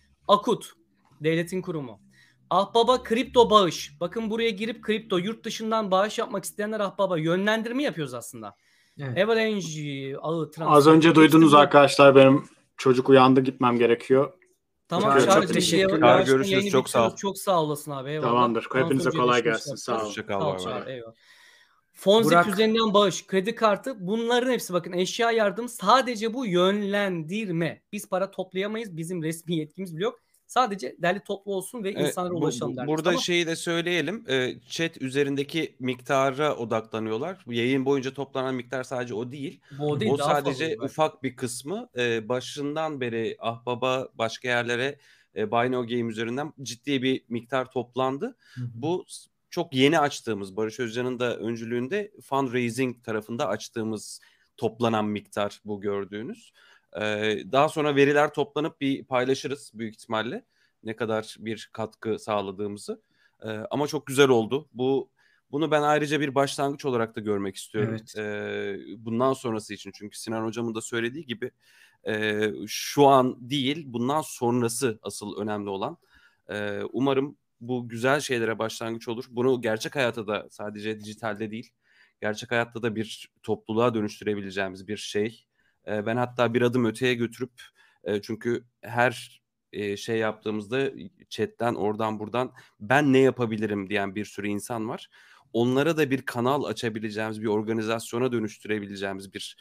Akut devletin kurumu. Ahbap'a kripto bağış. Bakın, buraya girip kripto yurt dışından bağış yapmak isteyenler Ahbap'a yönlendirme yapıyoruz aslında. Evet. Avalanche ağı transfer. Az önce duydunuz arkadaşlar, benim çocuk uyandı, gitmem gerekiyor. Tamam, çok, çok teşekkürler. Görüşürüz. Çok sağ ol. Çok sağ olasın abi. Eyvallah. Tamamdır. Hepinize kolay gelsin. Sağ ol. Sağ ol. Eyvallah. Fonzik üzerinden bağış, kredi kartı, bunların hepsi, bakın, eşya yardım, sadece bu yönlendirme. Biz para toplayamayız. Bizim resmi yetkimiz bile yok. Sadece derli toplu olsun ve insanlara evet, ulaşalım derler. Burada tamam. Şeyi de söyleyelim. Chat üzerindeki miktara odaklanıyorlar. Yayın boyunca toplanan miktar sadece o değil. Bu değil, o sadece fazla, ufak bir kısmı. Başından beri Ahbap'a, başka yerlere Buy No Game üzerinden ciddi bir miktar toplandı. Hı hı. Bu çok yeni açtığımız, Barış Özcan'ın da öncülüğünde fundraising tarafında açtığımız toplanan miktar bu gördüğünüz. Ee, daha sonra veriler toplanıp bir paylaşırız büyük ihtimalle. ne kadar bir katkı sağladığımızı. E, ama çok güzel oldu. Bu bunu ben ayrıca bir başlangıç olarak da görmek istiyorum. Evet. E, bundan sonrası için, çünkü Sinan hocamın da söylediği gibi e, şu an değil, bundan sonrası asıl önemli olan. E, umarım bu güzel şeylere başlangıç olur. Bunu gerçek hayata da, sadece dijitalde değil, gerçek hayatta da bir topluluğa dönüştürebileceğimiz bir şey. E, ben hatta bir adım öteye götürüp, e, çünkü her e, şey yaptığımızda chatten, oradan buradan ben ne yapabilirim diyen bir sürü insan var. Onlara da bir kanal açabileceğimiz, bir organizasyona dönüştürebileceğimiz bir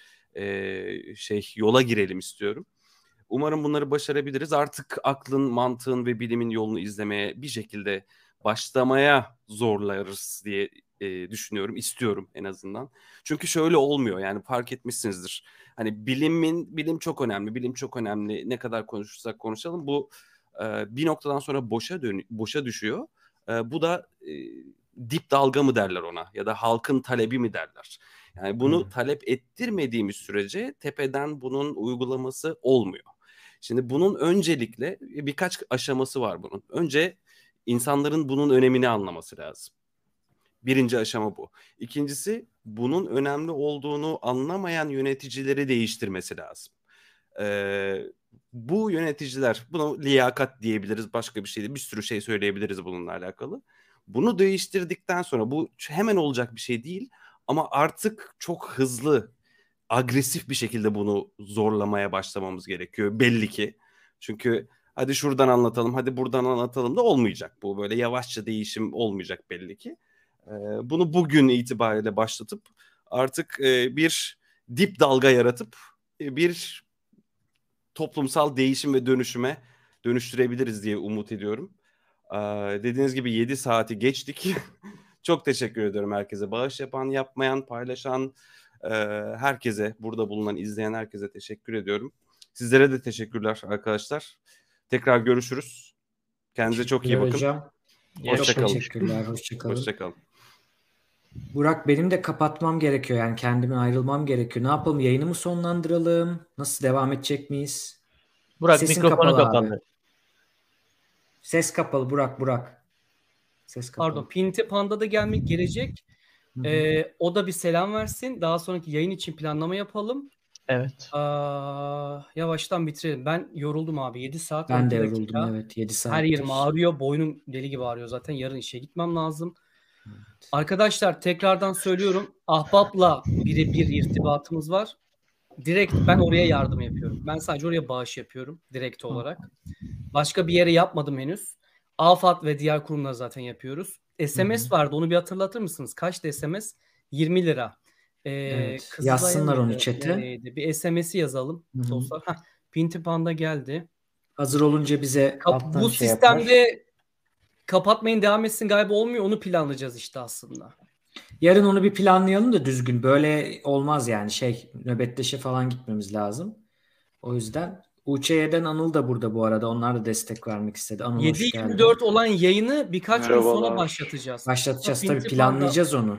e, şey yola girelim istiyorum. Umarım bunları başarabiliriz. Artık aklın, mantığın ve bilimin yolunu izlemeye, bir şekilde başlamaya zorlarız diye e, düşünüyorum, istiyorum en azından. Çünkü şöyle olmuyor, yani fark etmişsinizdir. Hani bilimin, bilim çok önemli, bilim çok önemli. Ne kadar konuşursak konuşalım, bu e, bir noktadan sonra boşa dön boşa düşüyor. E, bu da e, dip dalga mı derler ona, ya da halkın talebi mi derler. Yani bunu Hmm. talep ettirmediğimiz sürece tepeden bunun uygulaması olmuyor. Şimdi bunun öncelikle birkaç aşaması var bunun. Önce insanların bunun önemini anlaması lazım. Birinci aşama bu. İkincisi, bunun önemli olduğunu anlamayan yöneticileri değiştirmesi lazım. Ee, bu yöneticiler, buna liyakat diyebiliriz, başka bir şey değil. Bir sürü şey söyleyebiliriz bununla alakalı. Bunu değiştirdikten sonra, bu hemen olacak bir şey değil ama artık çok hızlı, agresif bir şekilde bunu zorlamaya başlamamız gerekiyor belli ki. Çünkü hadi şuradan anlatalım, hadi buradan anlatalım da olmayacak. Bu böyle yavaşça değişim olmayacak belli ki. Ee, bunu bugün itibariyle başlatıp artık e, bir dip dalga yaratıp e, bir toplumsal değişim ve dönüşüme dönüştürebiliriz diye umut ediyorum. Ee, dediğiniz gibi yedi saati geçtik. Çok teşekkür ediyorum herkese. Bağış yapan, yapmayan, paylaşan, e, herkese, burada bulunan, izleyen herkese teşekkür ediyorum. Sizlere de teşekkürler arkadaşlar. Tekrar görüşürüz. Kendinize çok iyi bakın. Hocam. Hoşça Çok kalın. teşekkürler. Hoşça kalın. Hoşça kalın. Burak, benim de kapatmam gerekiyor. Yani kendime ayrılmam gerekiyor. Ne yapalım? Yayını mı sonlandıralım? Nasıl, devam edecek miyiz? Burak Sesin mikrofonu kapalı abi. kapandı. Ses kapalı Burak, Burak. Ses kapalı. Pardon, Pinti Panda da gelmek gelecek. Hı hı. Ee, o da bir selam versin. Daha sonraki yayın için planlama yapalım. Evet. Aa, yavaştan bitirelim. Ben yoruldum abi. yedi saat Ben on de iki yoruldum, dakika. evet. yedi Her yerim saattir. ağrıyor. Boynum deli gibi ağrıyor zaten. Yarın işe gitmem lazım. Arkadaşlar tekrardan söylüyorum. Ahbap'la birebir irtibatımız var. Direkt ben oraya yardım yapıyorum. Ben sadece oraya bağış yapıyorum direkt olarak. Başka bir yere yapmadım henüz. AFAD ve diğer kurumlar zaten yapıyoruz. S M S Hı hı. vardı. Onu bir hatırlatır mısınız? Kaçtı S M S? yirmi lira. Ee, Evet. Kızılay'a Yazsınlar onu mıydı? chat'e. Nereydi? Bir S M S'i yazalım Hı hı. dostlar. Heh, Pinti Panda geldi. Hazır olunca bize Kap- alttan bu şey yapar. sistemde kapatmayın devam etsin galiba olmuyor. Onu planlayacağız işte aslında. Yarın onu bir planlayalım da düzgün. Böyle olmaz yani, şey, nöbetleşe falan gitmemiz lazım. O yüzden U Ç Y'den Anıl da burada bu arada. Onlar da destek vermek istedi. Anıl, yedi hoş geldin. yirmi dört olan yayını birkaç gün sonra Merhabalar. başlatacağız. Başlatacağız Ha, tabii, Pinti Panda. planlayacağız onu.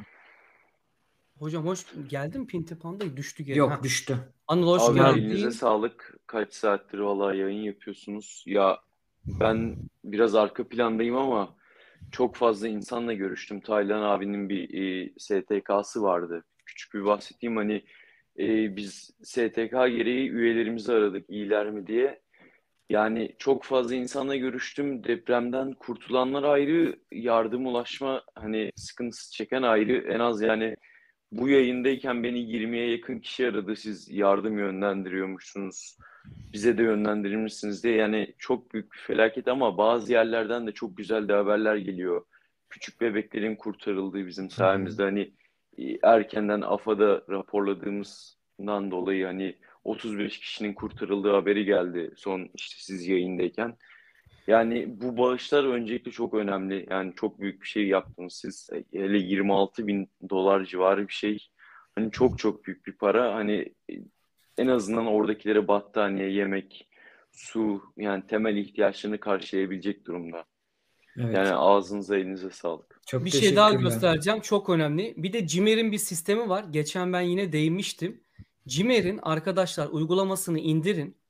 Hocam hoş geldin Pinti Panda, düştü geri. Yok, Heh. düştü. Anıl hoş Abi Umarım- elinize geldin. sağlık. Kaç saattir valla yayın yapıyorsunuz. Ya ben biraz arka plandayım ama çok fazla insanla görüştüm. Taylan abinin bir e, S T K'sı vardı. Küçük bir bahsedeyim, hani e, biz S T K gereği üyelerimizi aradık, iyiler mi diye. Yani çok fazla insanla görüştüm. Depremden kurtulanlar ayrı, yardım ulaşma hani sıkıntısı çeken ayrı. En az yani bu yayındayken beni yirmiye yakın kişi aradı. Siz yardım yönlendiriyormuşsunuz, bize de yönlendirir misiniz diye. Yani çok büyük bir felaket ama bazı yerlerden de çok güzel de haberler geliyor. Küçük bebeklerin kurtarıldığı bizim sayemizde, hani e, erkenden AFAD'a raporladığımızdan dolayı hani otuz beş kişinin kurtarıldığı haberi geldi son işte siz yayındayken. Yani bu bağışlar öncelikle çok önemli. Yani çok büyük bir şey yaptınız siz. Hele yirmi altı bin dolar civarı bir şey. Hani çok çok büyük bir para. Hani en azından oradakilere battaniye, yemek, su, yani temel ihtiyaçlarını karşılayabilecek durumda. Evet. Yani ağzınıza elinize sağlık. Çok Bir şey daha teşekkürler. göstereceğim. Çok önemli. Bir de Cimer'in bir sistemi var. Geçen ben yine değinmiştim. Cimer'in arkadaşlar uygulamasını indirin.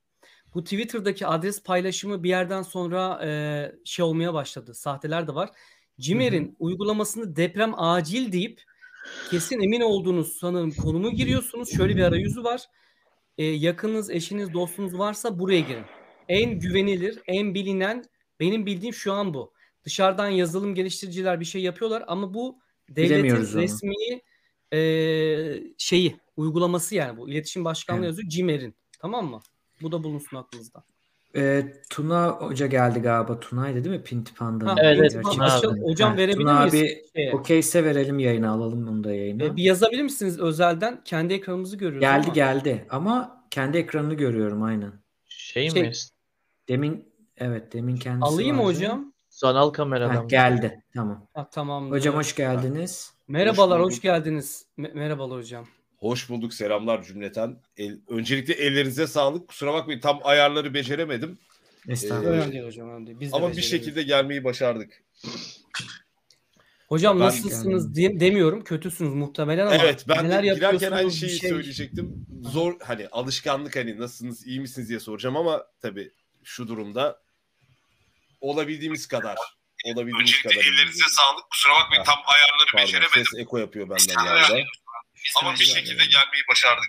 Bu Twitter'daki adres paylaşımı bir yerden sonra e, şey olmaya başladı. Sahteler de var. Cimer'in uygulamasını deprem acil deyip kesin emin olduğunuz sanırım konumu giriyorsunuz. Şöyle bir arayüzü var. E, yakınınız, eşiniz, dostunuz varsa buraya girin. En güvenilir, en bilinen benim bildiğim şu an bu. Dışarıdan yazılım geliştiriciler bir şey yapıyorlar ama bu devletin Bilemiyoruz onu. resmi e, şeyi, uygulaması yani bu. İletişim Başkanlığı Evet. yazıyor Cimer'in. Tamam mı? Bu da bulunsun aklınızda. Ee, Tuna Hoca geldi galiba. Tuna'ydı değil mi? Pinti Panda'nın. Ha, Evet, evet, İntiba- Tuna açıl- abi. hocam Ha, verebilir Tuna miyiz? abi şeye? okeyse verelim yayına, alalım onu da yayına. E, bir yazabilir misiniz özelden? Kendi ekranımızı görüyoruz Geldi ama. geldi ama kendi ekranını görüyorum aynen. Şey, Şey- mi? Demin evet demin kendisi Alayım mı vardı. hocam? Sanal Ha, kameradan. geldi tamam. Ha, tamam. Hocam hoş geldiniz. Merhabalar, Hoş hoş, bulduk. geldiniz. Me- merhabalar hocam. Hoş bulduk, selamlar cümleten. El, öncelikle ellerinize sağlık. Kusura bakmayın, tam ayarları beceremedim. Estağfurullah. Ee, Önemli değil hocam, önemli değil. Biz de Ama bir beceremiyoruz. şekilde gelmeyi başardık. Hocam Ben nasılsınız diye demiyorum. Kötüsünüz muhtemelen ama Evet, ben neler de girerken yapıyorsunuz, aynı bir şeyi şey- söyleyecektim. Zor, hani alışkanlık, hani nasılsınız, iyi misiniz diye soracağım ama tabii şu durumda olabildiğimiz kadar olabildiğimiz kadar ellerinize sağlık. Kusura bakmayın, tam ayarları Pardon, beceremedim. ses eko yapıyor benden galiba. Ama bir şekilde gelmeyi başardık.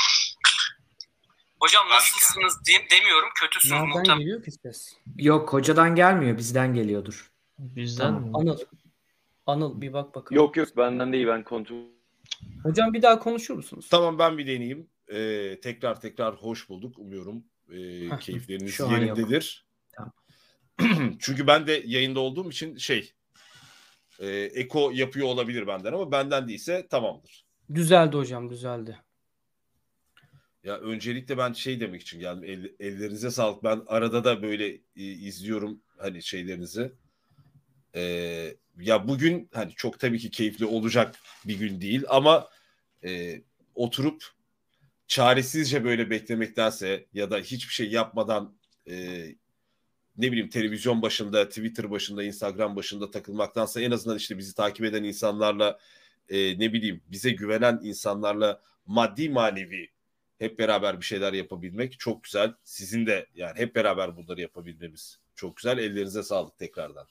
Hocam Ben- nasılsınız diye demiyorum. Kötüsünüz Nereden muhtemelen. geliyor ki ses? Yok hocadan gelmiyor, bizden geliyordur. Bizden Tamam. mi? Anıl. Anıl bir bak bakalım. Yok yok benden değil, ben kontrol. Hocam bir daha konuşur musunuz? Tamam, ben bir deneyeyim. Ee, tekrar tekrar hoş bulduk. Umuyorum e, keyifleriniz Şu an yok. yerindedir. Tamam. Çünkü ben de yayında olduğum için şey e, eko yapıyor olabilir benden ama benden değilse tamamdır. Düzeldi hocam, düzeldi. Ya öncelikle ben şey demek için geldim. El- ellerinize sağlık. Ben arada da böyle e, izliyorum hani şeylerinizi. Ee, ya bugün hani çok tabii ki keyifli olacak bir gün değil ama e, oturup çaresizce böyle beklemektense ya da hiçbir şey yapmadan e, ne bileyim televizyon başında, Twitter başında, Instagram başında takılmaktansa en azından işte bizi takip eden insanlarla e, ne bileyim bize güvenen insanlarla maddi manevi hep beraber bir şeyler yapabilmek çok güzel. Sizin de yani hep beraber bunları yapabilmemiz çok güzel. Ellerinize sağlık tekrardan.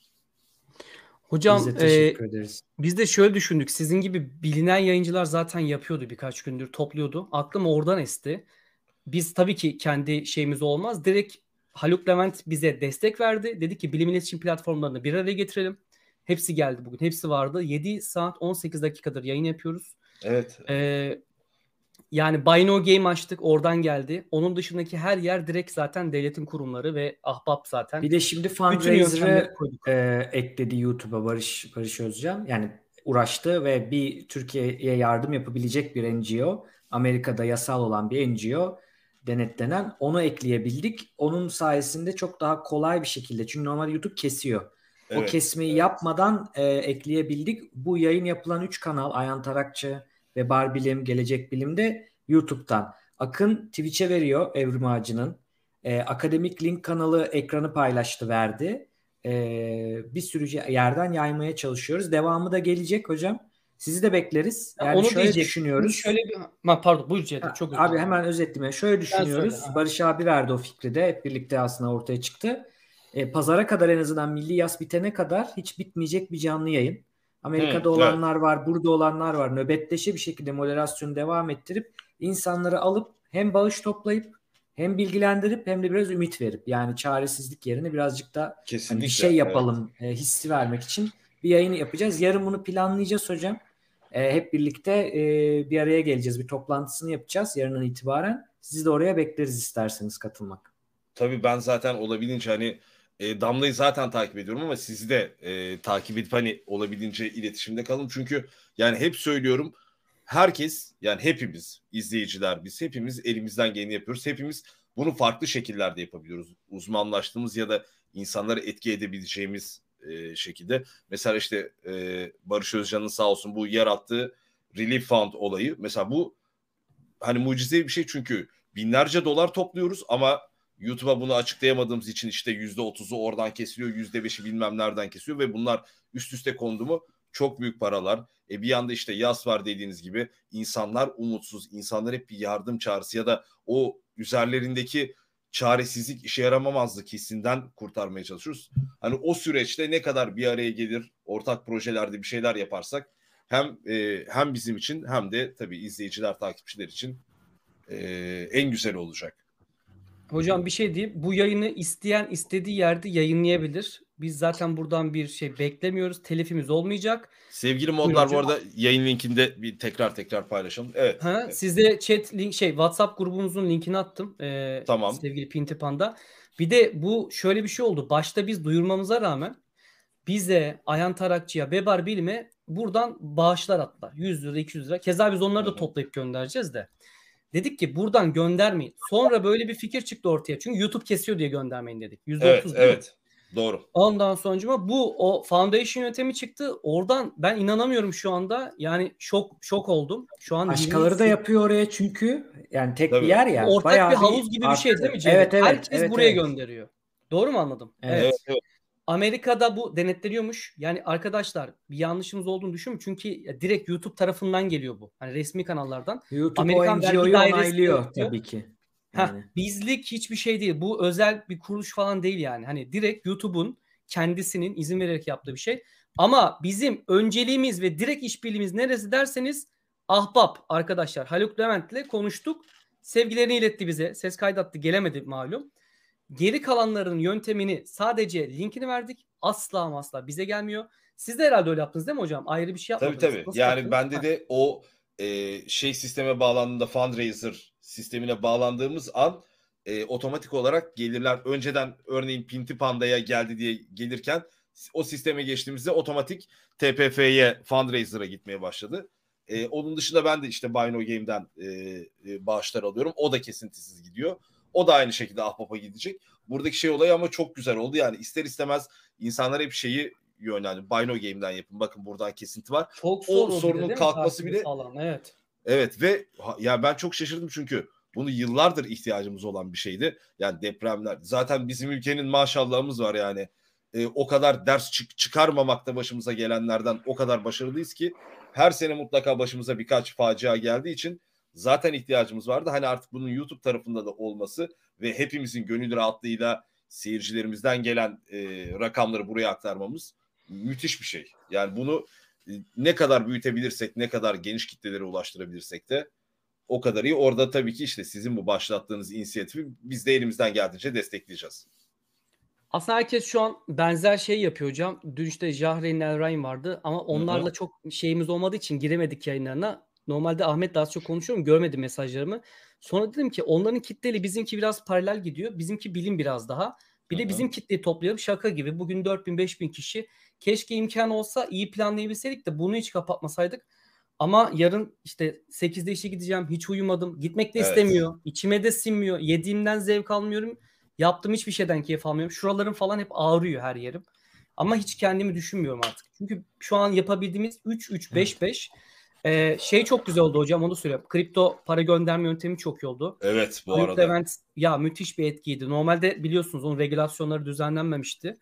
Hocam Biz de e, teşekkür ederiz. biz de şöyle düşündük. Sizin gibi bilinen yayıncılar zaten yapıyordu, birkaç gündür topluyordu. Aklım oradan esti. Biz tabii ki kendi şeyimiz olmaz. Direkt Haluk Levent bize destek verdi. Dedi ki bilim iletişim platformlarını bir araya getirelim. Hepsi geldi bugün. Hepsi vardı. yedi saat on sekiz dakikadır yayın yapıyoruz. Evet. Ee, yani Buy No Game açtık. Oradan geldi. Onun dışındaki her yer direkt zaten devletin kurumları ve Ahbap zaten. Bir de şimdi Bütün yöntemleri fundraiser'ı koyduk. e, ekledi YouTube'a Barış Barış Özcan. Yani uğraştı ve bir Türkiye'ye yardım yapabilecek bir N G O, Amerika'da yasal olan bir N G O denetlenen, onu ekleyebildik. Onun sayesinde çok daha kolay bir şekilde, çünkü normalde YouTube kesiyor. O Evet, kesmeyi evet. yapmadan e, ekleyebildik. Bu yayın yapılan üç kanal, Ayhan Tarakçı ve Barbilim, Gelecek Bilim'de YouTube'dan. Akın Twitch'e veriyor Evrim Ağacı'nın. E, Akademik Link kanalı ekranı paylaştı, verdi. E, bir sürü yerden yaymaya çalışıyoruz. Devamı da gelecek hocam. Sizi de bekleriz. Yani onu şöyle diyecek. düşünüyoruz. Şöyle bir ha, pardon buyur Ceyda, Ha, çok özür Abi dilerim. hemen özetleyeyim. Şöyle düşünüyoruz. söyle, ha. Barış abi verdi o fikri de. Hep birlikte aslında ortaya çıktı. E, pazara kadar, en azından milli yas bitene kadar hiç bitmeyecek bir canlı yayın. Amerika'da Hı, olanlar var, burada olanlar var. Nöbetleşe bir şekilde moderasyonu devam ettirip insanları alıp hem bağış toplayıp hem bilgilendirip hem de biraz ümit verip, yani çaresizlik yerine birazcık da hani Kesinlikle. bir şey yapalım e, hissi vermek için bir yayın yapacağız. Yarın bunu planlayacağız hocam. E, hep birlikte e, bir araya geleceğiz. Bir toplantısını yapacağız yarından itibaren. Sizi de oraya bekleriz isterseniz katılmak. Tabii ben zaten olabildiğince hani e, Damla'yı zaten takip ediyorum ama sizi de e, takip edip hani olabildiğince iletişimde kalın. Çünkü yani hep söylüyorum, herkes, yani hepimiz izleyiciler, biz hepimiz elimizden geleni yapıyoruz. Hepimiz bunu farklı şekillerde yapabiliyoruz. Uzmanlaştığımız ya da insanları etki edebileceğimiz e, şekilde. Mesela işte e, Barış Özcan'ın sağ olsun bu yarattığı Relief Fund olayı. Mesela bu hani mucizevi bir şey, çünkü binlerce dolar topluyoruz ama YouTube'a bunu açıklayamadığımız için işte yüzde otuzu oradan kesiliyor, yüzde beşi bilmem nereden kesiyor ve bunlar üst üste kondu mu çok büyük paralar. E bir yanda işte yas var dediğiniz gibi, insanlar umutsuz, insanlar hep bir yardım çağrısı ya da o üzerlerindeki çaresizlik, işe yaramamazlık hissinden kurtarmaya çalışıyoruz. Hani o süreçte ne kadar bir araya gelir, ortak projelerde bir şeyler yaparsak hem e, hem bizim için hem de tabii izleyiciler, takipçiler için e, en güzel olacak. Hocam bir şey diyeyim. Bu yayını isteyen istediği yerde yayınlayabilir. Biz zaten buradan bir şey beklemiyoruz. Telifimiz olmayacak. Sevgili modlar, bu arada yayın linkinde bir tekrar tekrar paylaşalım. Evet. Ha, evet. Size chat link şey WhatsApp grubumuzun linkini attım. Ee, Tamam. Sevgili Pintipan'da. Bir de bu şöyle bir şey oldu. Başta biz duyurmamıza rağmen bize, Ayhan Tarakçı'ya, Bebar Bilim'e buradan bağışlar attılar. yüz lira, iki yüz lira. Keza biz onları da toplayıp göndereceğiz de. Dedik ki buradan göndermeyin. Sonra böyle bir fikir çıktı ortaya. Çünkü YouTube kesiyor diye göndermeyin dedik. yüzde otuz Evet, evet. Doğru. Ondan sonra bu o foundation yöntemi çıktı. Oradan ben inanamıyorum şu anda. Yani şok şok oldum. Şu an Başkaları da yapıyor oraya çünkü. Yani tek Tabii. bir yer ya. ortak bayağı bir havuz gibi bir şey arttı. değil mi Cevdet? Evet, evet. Herkes evet, buraya evet. gönderiyor. Doğru mu anladım? Evet. Evet, evet. Amerika'da bu denetleniyormuş. Yani arkadaşlar bir yanlışımız olduğunu düşünün. Çünkü direkt YouTube tarafından geliyor bu. Hani resmi kanallardan. YouTube Amerikan o vergi N G O'yu dairesi onaylıyor yapıyor. tabii ki. Heh, Yani. bizlik hiçbir şey değil. Bu özel bir kuruluş falan değil yani. Hani direkt YouTube'un kendisinin izin vererek yaptığı bir şey. Ama bizim önceliğimiz ve direkt işbirliğimiz neresi derseniz Ahbap arkadaşlar. Haluk Levent'le konuştuk. Sevgilerini iletti bize. Ses kaydattı. Gelemedi malum. Geri kalanların yöntemini sadece linkini verdik. Asla ama asla bize gelmiyor. Siz de herhalde öyle yaptınız değil mi hocam? Ayrı bir şey Tabii yapmadınız. tabii. Nasıl Yani yaptınız? bende Ha. de o e, şey sisteme bağlandığında, fundraiser sistemine bağlandığımız an e, otomatik olarak gelirler. Önceden örneğin Pinti Panda'ya geldi diye gelirken o sisteme geçtiğimizde otomatik T P F'ye, fundraiser'a gitmeye başladı. E, onun dışında ben de işte Buy No Game'den e, e, bağışlar alıyorum. O da kesintisiz gidiyor. O da aynı şekilde Ahbap'a gidecek. Buradaki şey olayı ama çok güzel oldu. Yani ister istemez insanlar hep şeyi yönlendi. Buy No Game'den yapın. Bakın buradan kesinti var. Çok O zor o sorunun bir de, değil mi? kalkması Takibi bile falan, evet. evet ve ha- ya ben çok şaşırdım çünkü bunu yıllardır ihtiyacımız olan bir şeydi. Yani depremler. Zaten bizim ülkenin maşallahımız var yani. Ee, o kadar ders çık- çıkarmamakta başımıza gelenlerden o kadar başarılıyız ki her sene mutlaka başımıza birkaç facia geldiği için zaten ihtiyacımız vardı. Hani artık bunun YouTube tarafında da olması ve hepimizin gönül rahatlığıyla seyircilerimizden gelen e, rakamları buraya aktarmamız müthiş bir şey. Yani bunu e, ne kadar büyütebilirsek, ne kadar geniş kitlelere ulaştırabilirsek de o kadar iyi. Orada tabii ki işte sizin bu başlattığınız inisiyatifi biz de elimizden geldiğince destekleyeceğiz. Aslında herkes şu an benzer şey yapıyor hocam. Dün işte Jahreyn Elrain vardı ama onlarla Hı hı. çok şeyimiz olmadığı için giremedik yayınlarına. Normalde Ahmet'le az çok konuşuyorum. Görmedi mesajlarımı. Sonra dedim ki onların kitleli bizimki biraz paralel gidiyor. Bizimki bilim biraz daha. Bir Hı de hı. bizim kitleyi toplayalım şaka gibi. Bugün dört bin beş bin kişi. Keşke imkan olsa iyi planlayabilseydik de bunu hiç kapatmasaydık. Ama yarın işte sekizde işe gideceğim. Hiç uyumadım. Gitmek de Evet. istemiyor. İçime de sinmiyor. Yediğimden zevk almıyorum. Yaptığım hiçbir şeyden keyif almıyorum. Şuralarım falan hep ağrıyor her yerim. Ama hiç kendimi düşünmüyorum artık. Çünkü şu an yapabildiğimiz üç üç beş beş ee, şey çok güzel oldu hocam, onu söyleyeyim. Kripto para gönderme yöntemi çok iyi oldu. Evet bu Haluk arada. Levent ya müthiş bir etkiydi. Normalde biliyorsunuz onun regülasyonları düzenlenmemişti.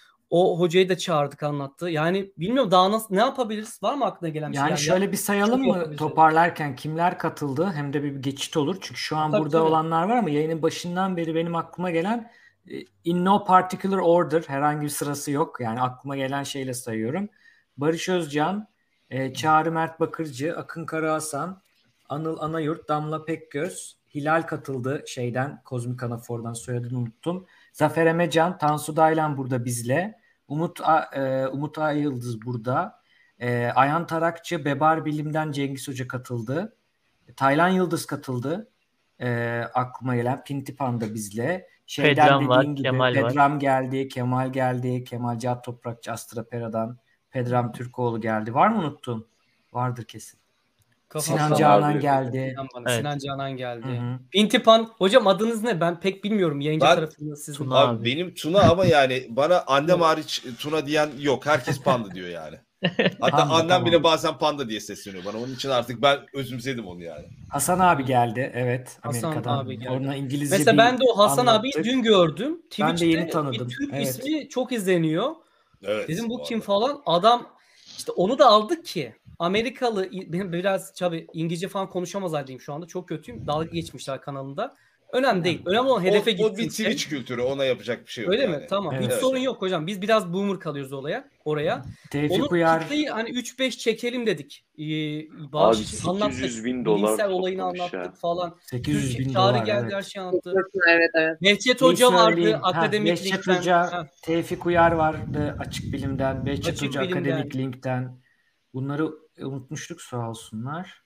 O hocayı da çağırdık, anlattı. Yani bilmiyorum daha nasıl ne yapabiliriz? Var mı aklına gelen bir şey? Yani şöyle bir sayalım çok mı yapabileceğiz. toparlarken kimler katıldı, hem de bir geçit olur. Çünkü şu an Tabii, burada tabii. olanlar var ama yayının başından beri benim aklıma gelen e, in no particular order, herhangi bir sırası yok. Yani aklıma gelen şeyle sayıyorum. Barış Özcan, e, Çağrı Mert Bakırcı, Akın Karahasan, Anıl Anayurt, Damla Pekgöz, Hilal katıldı şeyden, Kozmik Anafor'dan, soyadını unuttum. Zafer Emecan, Tansu Daylan burada bizle. Umut A- e, Umut Ayıldız burada. E, Ayhan Tarakçı, Bebar Bilim'den Cengiz Hoca katıldı. Taylan Yıldız katıldı. E, aklıma gelen Pinti Panda bizle. Şeyden Pedram var, dediğin gibi Kemal var. Pedram geldi, Kemal geldi, Kemal Cihat Toprakçı Astra Pera'dan Pedram Türkoğlu geldi. Var mı unuttum? Vardır kesin. Kafam Sinan Hasan Canan abi. geldi. Sinan, bana, Evet. Sinan Canan geldi. Hı hı. Pintipan. Hocam adınız ne? Ben pek bilmiyorum. Yayıncı Ben- tarafında sizin. Tuna Abi, abi. benim Tuna ama yani bana annem hariç Tuna diyen yok. Herkes Panda diyor yani. Hatta Panda, annem tamam. bile bazen Panda diye sesleniyor bana. Onun için artık ben özümsedim onu yani. Hasan abi geldi. Evet. Hasan Amerika'dan. abi geldi. Ona İngilizce Mesela bir ben de o Hasan abiyi anlattık. dün gördüm. Ben de Twitch'te yeni tanıdım. bir Türk Evet. ismi çok izleniyor. Evet. Dedim bu kim arada. falan. Adam işte onu da aldık ki Amerikalı, benim biraz tabii İngilizce falan konuşamaz haldeyim şu anda. Çok kötüyüm. Dalga geçmişler kanalında. Önemli değil. Önemli olan hedefe o, o bir gitsin. Twitch kültürü, ona yapacak bir şey yok. Öyle yani. mi? Tamam. Evet. Hiç Evet. sorun yok hocam. Biz biraz boomer kalıyoruz olaya, oraya. Tevfik Onun Uyar kitleyi hani üç beş çekelim dedik. Ee, Abi bağış sekiz anlattık. yüz bin dolar Bilimsel olayını toplamış anlattık ya. falan. sekiz yüz Türkiye bin Çağrı dolar, geldi, evet. her şeyi anlattı. Evet evet. Behçet Bir Hoca vardı söyleyeyim. Ha, akademik Behçet linkten. Hoca, Ha, Tevfik Uyar vardı Açık Bilim'den. Behçet Açık Hoca Bilim'den. akademik linkten. Bunları unutmuştuk, sağ olsunlar.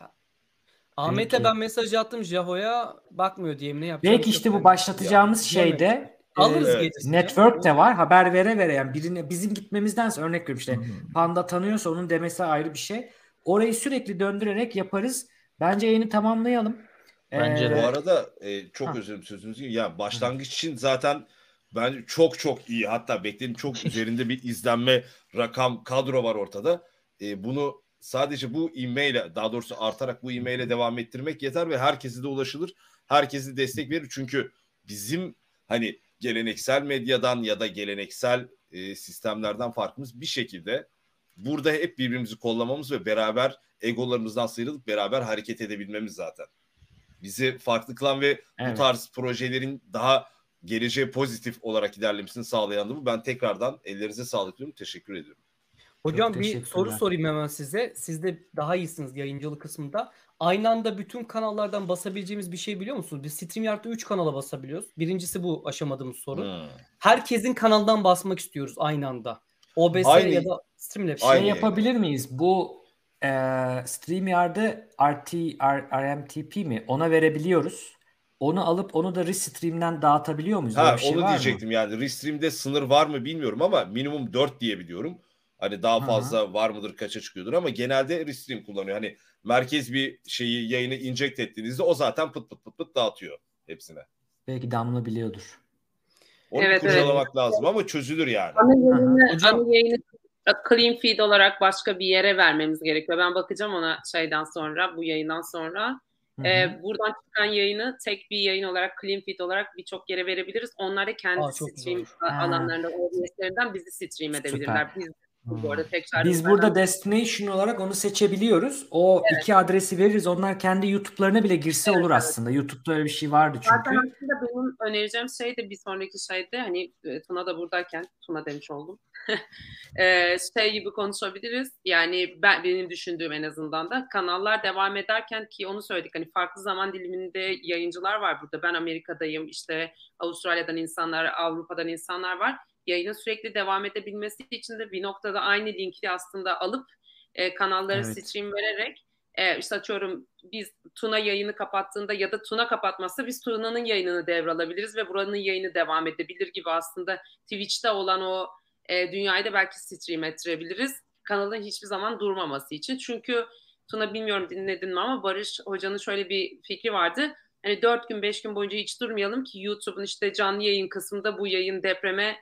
Ahmet'e Peki. ben mesaj attım, Jaho'ya bakmıyor diyeyim, ne yapacağım. Belki işte bu başlatacağımız şeyde Alırız e, gerisini. network de var. Haber vere vere, yani birine bizim gitmemizdense, örnek veriyorum işte Panda tanıyorsa onun demesi ayrı bir şey. Orayı sürekli döndürerek yaparız. Bence yayını tamamlayalım. Bence Ee, de. Bu arada e, çok Ha. özür dilerim sözünüzü. Ya başlangıç için zaten bence çok çok iyi, hatta beklenin çok üzerinde bir izlenme rakam kadro var ortada. E, bunu sadece bu ivmeyle, daha doğrusu artarak bu ivmeyle devam ettirmek yeter ve herkese de ulaşılır. Herkese destek verir. Çünkü bizim hani geleneksel medyadan ya da geleneksel e, sistemlerden farkımız bir şekilde burada hep birbirimizi kollamamız ve beraber egolarımızdan sıyrılıp beraber hareket edebilmemiz zaten. Bizi farklı kılan ve Evet. bu tarz projelerin daha geleceğe pozitif olarak ilerlemesini sağlayan da bu. Ben tekrardan ellerinize sağlık diyorum. Teşekkür ediyorum. Hocam Çok bir teşekkürler. soru sorayım hemen size. Siz de daha iyisiniz yayıncılık kısmında. Aynı anda bütün kanallardan basabileceğimiz bir şey biliyor musunuz? Biz StreamYard'da üç kanala basabiliyoruz. Birincisi bu aşamadığımız soru. Hmm. Herkesin kanaldan basmak istiyoruz aynı anda. O B S Aynı- ya da Streamlabs. Şey Aynı yapabilir miyiz? Bu e, StreamYard'ı R T, R, R M T P mi? Ona verebiliyoruz. Onu alıp onu da Restream'den dağıtabiliyor muyuz? Öyle Ha, bir şey onu var mı? diyecektim yani. Restream'de sınır var mı bilmiyorum ama minimum dört diye biliyorum. Hani daha Hı hı. fazla var mıdır, kaça çıkıyordur ama genelde Restream kullanıyor. Hani merkez bir şeyi, yayını inject ettiğinizde o zaten pıt pıt pıt pıt dağıtıyor hepsine. Belki Damla biliyordur. Onu Evet, kurcalamak lazım ama çözülür yani. Ana yayını, Hocam- ana yayını clean feed olarak başka bir yere vermemiz gerekiyor. Ben bakacağım ona şeyden sonra, bu yayından sonra. Hı hı. Ee, buradan çıkan yayını tek bir yayın olarak, clean feed olarak birçok yere verebiliriz. Onlar da kendi Aa, çok stream güzel. Ha. alanlarında, O B S'lerinden bizi stream Süper. edebilirler. Biz bu arada tekrar Biz burada destination olarak onu seçebiliyoruz. O iki adresi veririz. Onlar kendi YouTube'larına bile girse olur aslında. YouTube'da öyle bir şey vardı Zaten çünkü. aslında benim önereceğim şey de bir sonraki şeyde, hani e, Tuna da buradayken, Tuna demiş oldum. e, şey gibi konuşabiliriz. Yani ben benim düşündüğüm en azından da kanallar devam ederken, ki onu söyledik, hani farklı zaman diliminde yayıncılar var burada. Ben Amerika'dayım, işte Avustralya'dan insanlar, Avrupa'dan insanlar var. Yayının sürekli devam edebilmesi için de bir noktada aynı linki aslında alıp e, kanalları Evet. stream vererek e, işte atıyorum biz Tuna yayını kapattığında ya da Tuna kapatmazsa biz Tuna'nın yayınını devralabiliriz ve buranın yayını devam edebilir gibi aslında Twitch'te olan o e, dünyayı da belki stream ettirebiliriz. Kanalın hiçbir zaman durmaması için. Çünkü Tuna, bilmiyorum dinledin mi ama Barış Hoca'nın şöyle bir fikri vardı. Hani dört gün beş gün boyunca hiç durmayalım ki YouTube'un işte canlı yayın kısmında bu yayın depreme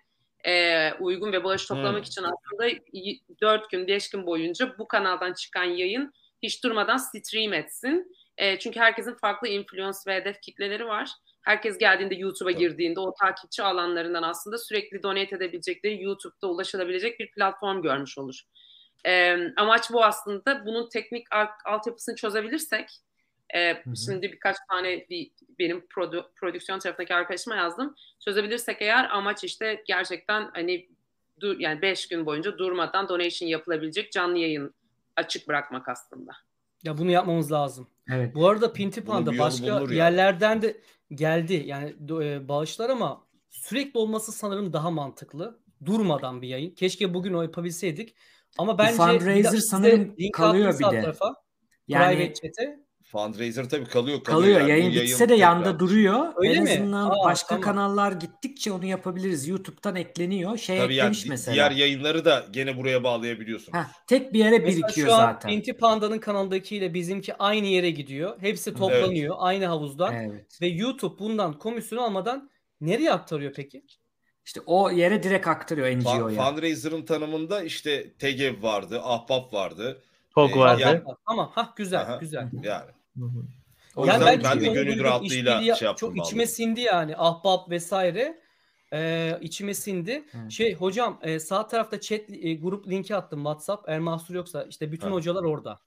e, uygun ve bağış toplamak Hmm. için aslında dört gün beş gün boyunca bu kanaldan çıkan yayın hiç durmadan stream etsin. E, çünkü herkesin farklı influence ve hedef kitleleri var. Herkes geldiğinde, YouTube'a girdiğinde o takipçi alanlarından aslında sürekli donate edebilecekleri, YouTube'da ulaşılabilecek bir platform görmüş olur. E, amaç bu aslında. Bunun teknik altyapısını çözebilirsek, e, hı. şimdi birkaç tane bir, benim produ, prodüksiyon tarafındaki arkadaşıma yazdım. Çözebilirsek eğer, amaç işte gerçekten hani dur, yani beş gün boyunca durmadan donation yapılabilecek canlı yayın açık bırakmak aslında. Ya bunu yapmamız lazım. Evet. Bu arada Pinti Bunun Panda bir yolu başka bulunur yani. yerlerden de geldi. Yani e, bağışlar ama sürekli olması sanırım daha mantıklı. Durmadan bir yayın. Keşke bugün o yapabilseydik. Ama bence fundraiser bir de size sanırım link kalıyor attım bir sağ de. tarafa. Yani Private chat'e. Fundraiser tabii kalıyor. Kalıyor, kalıyor. yani. Bu Yayın bitse de tekrar- yanda duruyor. Öyle en mi? azından Aa, başka tamam. kanallar gittikçe onu yapabiliriz. YouTube'dan ekleniyor. Şey Tabii yani eklemiş di- mesela. diğer yayınları da gene buraya bağlayabiliyorsunuz. Heh, tek bir yere Mesela birikiyor şu an zaten. Pinti Panda'nın kanaldakiyle bizimki aynı yere gidiyor. Hepsi toplanıyor aynı havuzdan. Evet. Ve YouTube bundan komisyon almadan nereye aktarıyor peki? İşte o yere direkt aktarıyor N G Fun- O'ya. Fundraiser'ın tanımında işte T G E V vardı, Ahbap vardı. Tok Ee, vardı. yani- Tamam. Ha güzel Aha, güzel. Yani. Hı hı. O Yani yüzden ben, ben de çünkü onu gönül duydum, rahatlığıyla işbirliği şey yaptım. çok içime vallahi. sindi yani. Ahbap vesaire. Ee, içime sindi. Evet. Şey hocam e, sağ tarafta chat e, grup linki attım WhatsApp. Eğer mahsur yoksa işte bütün Ha. hocalar orada.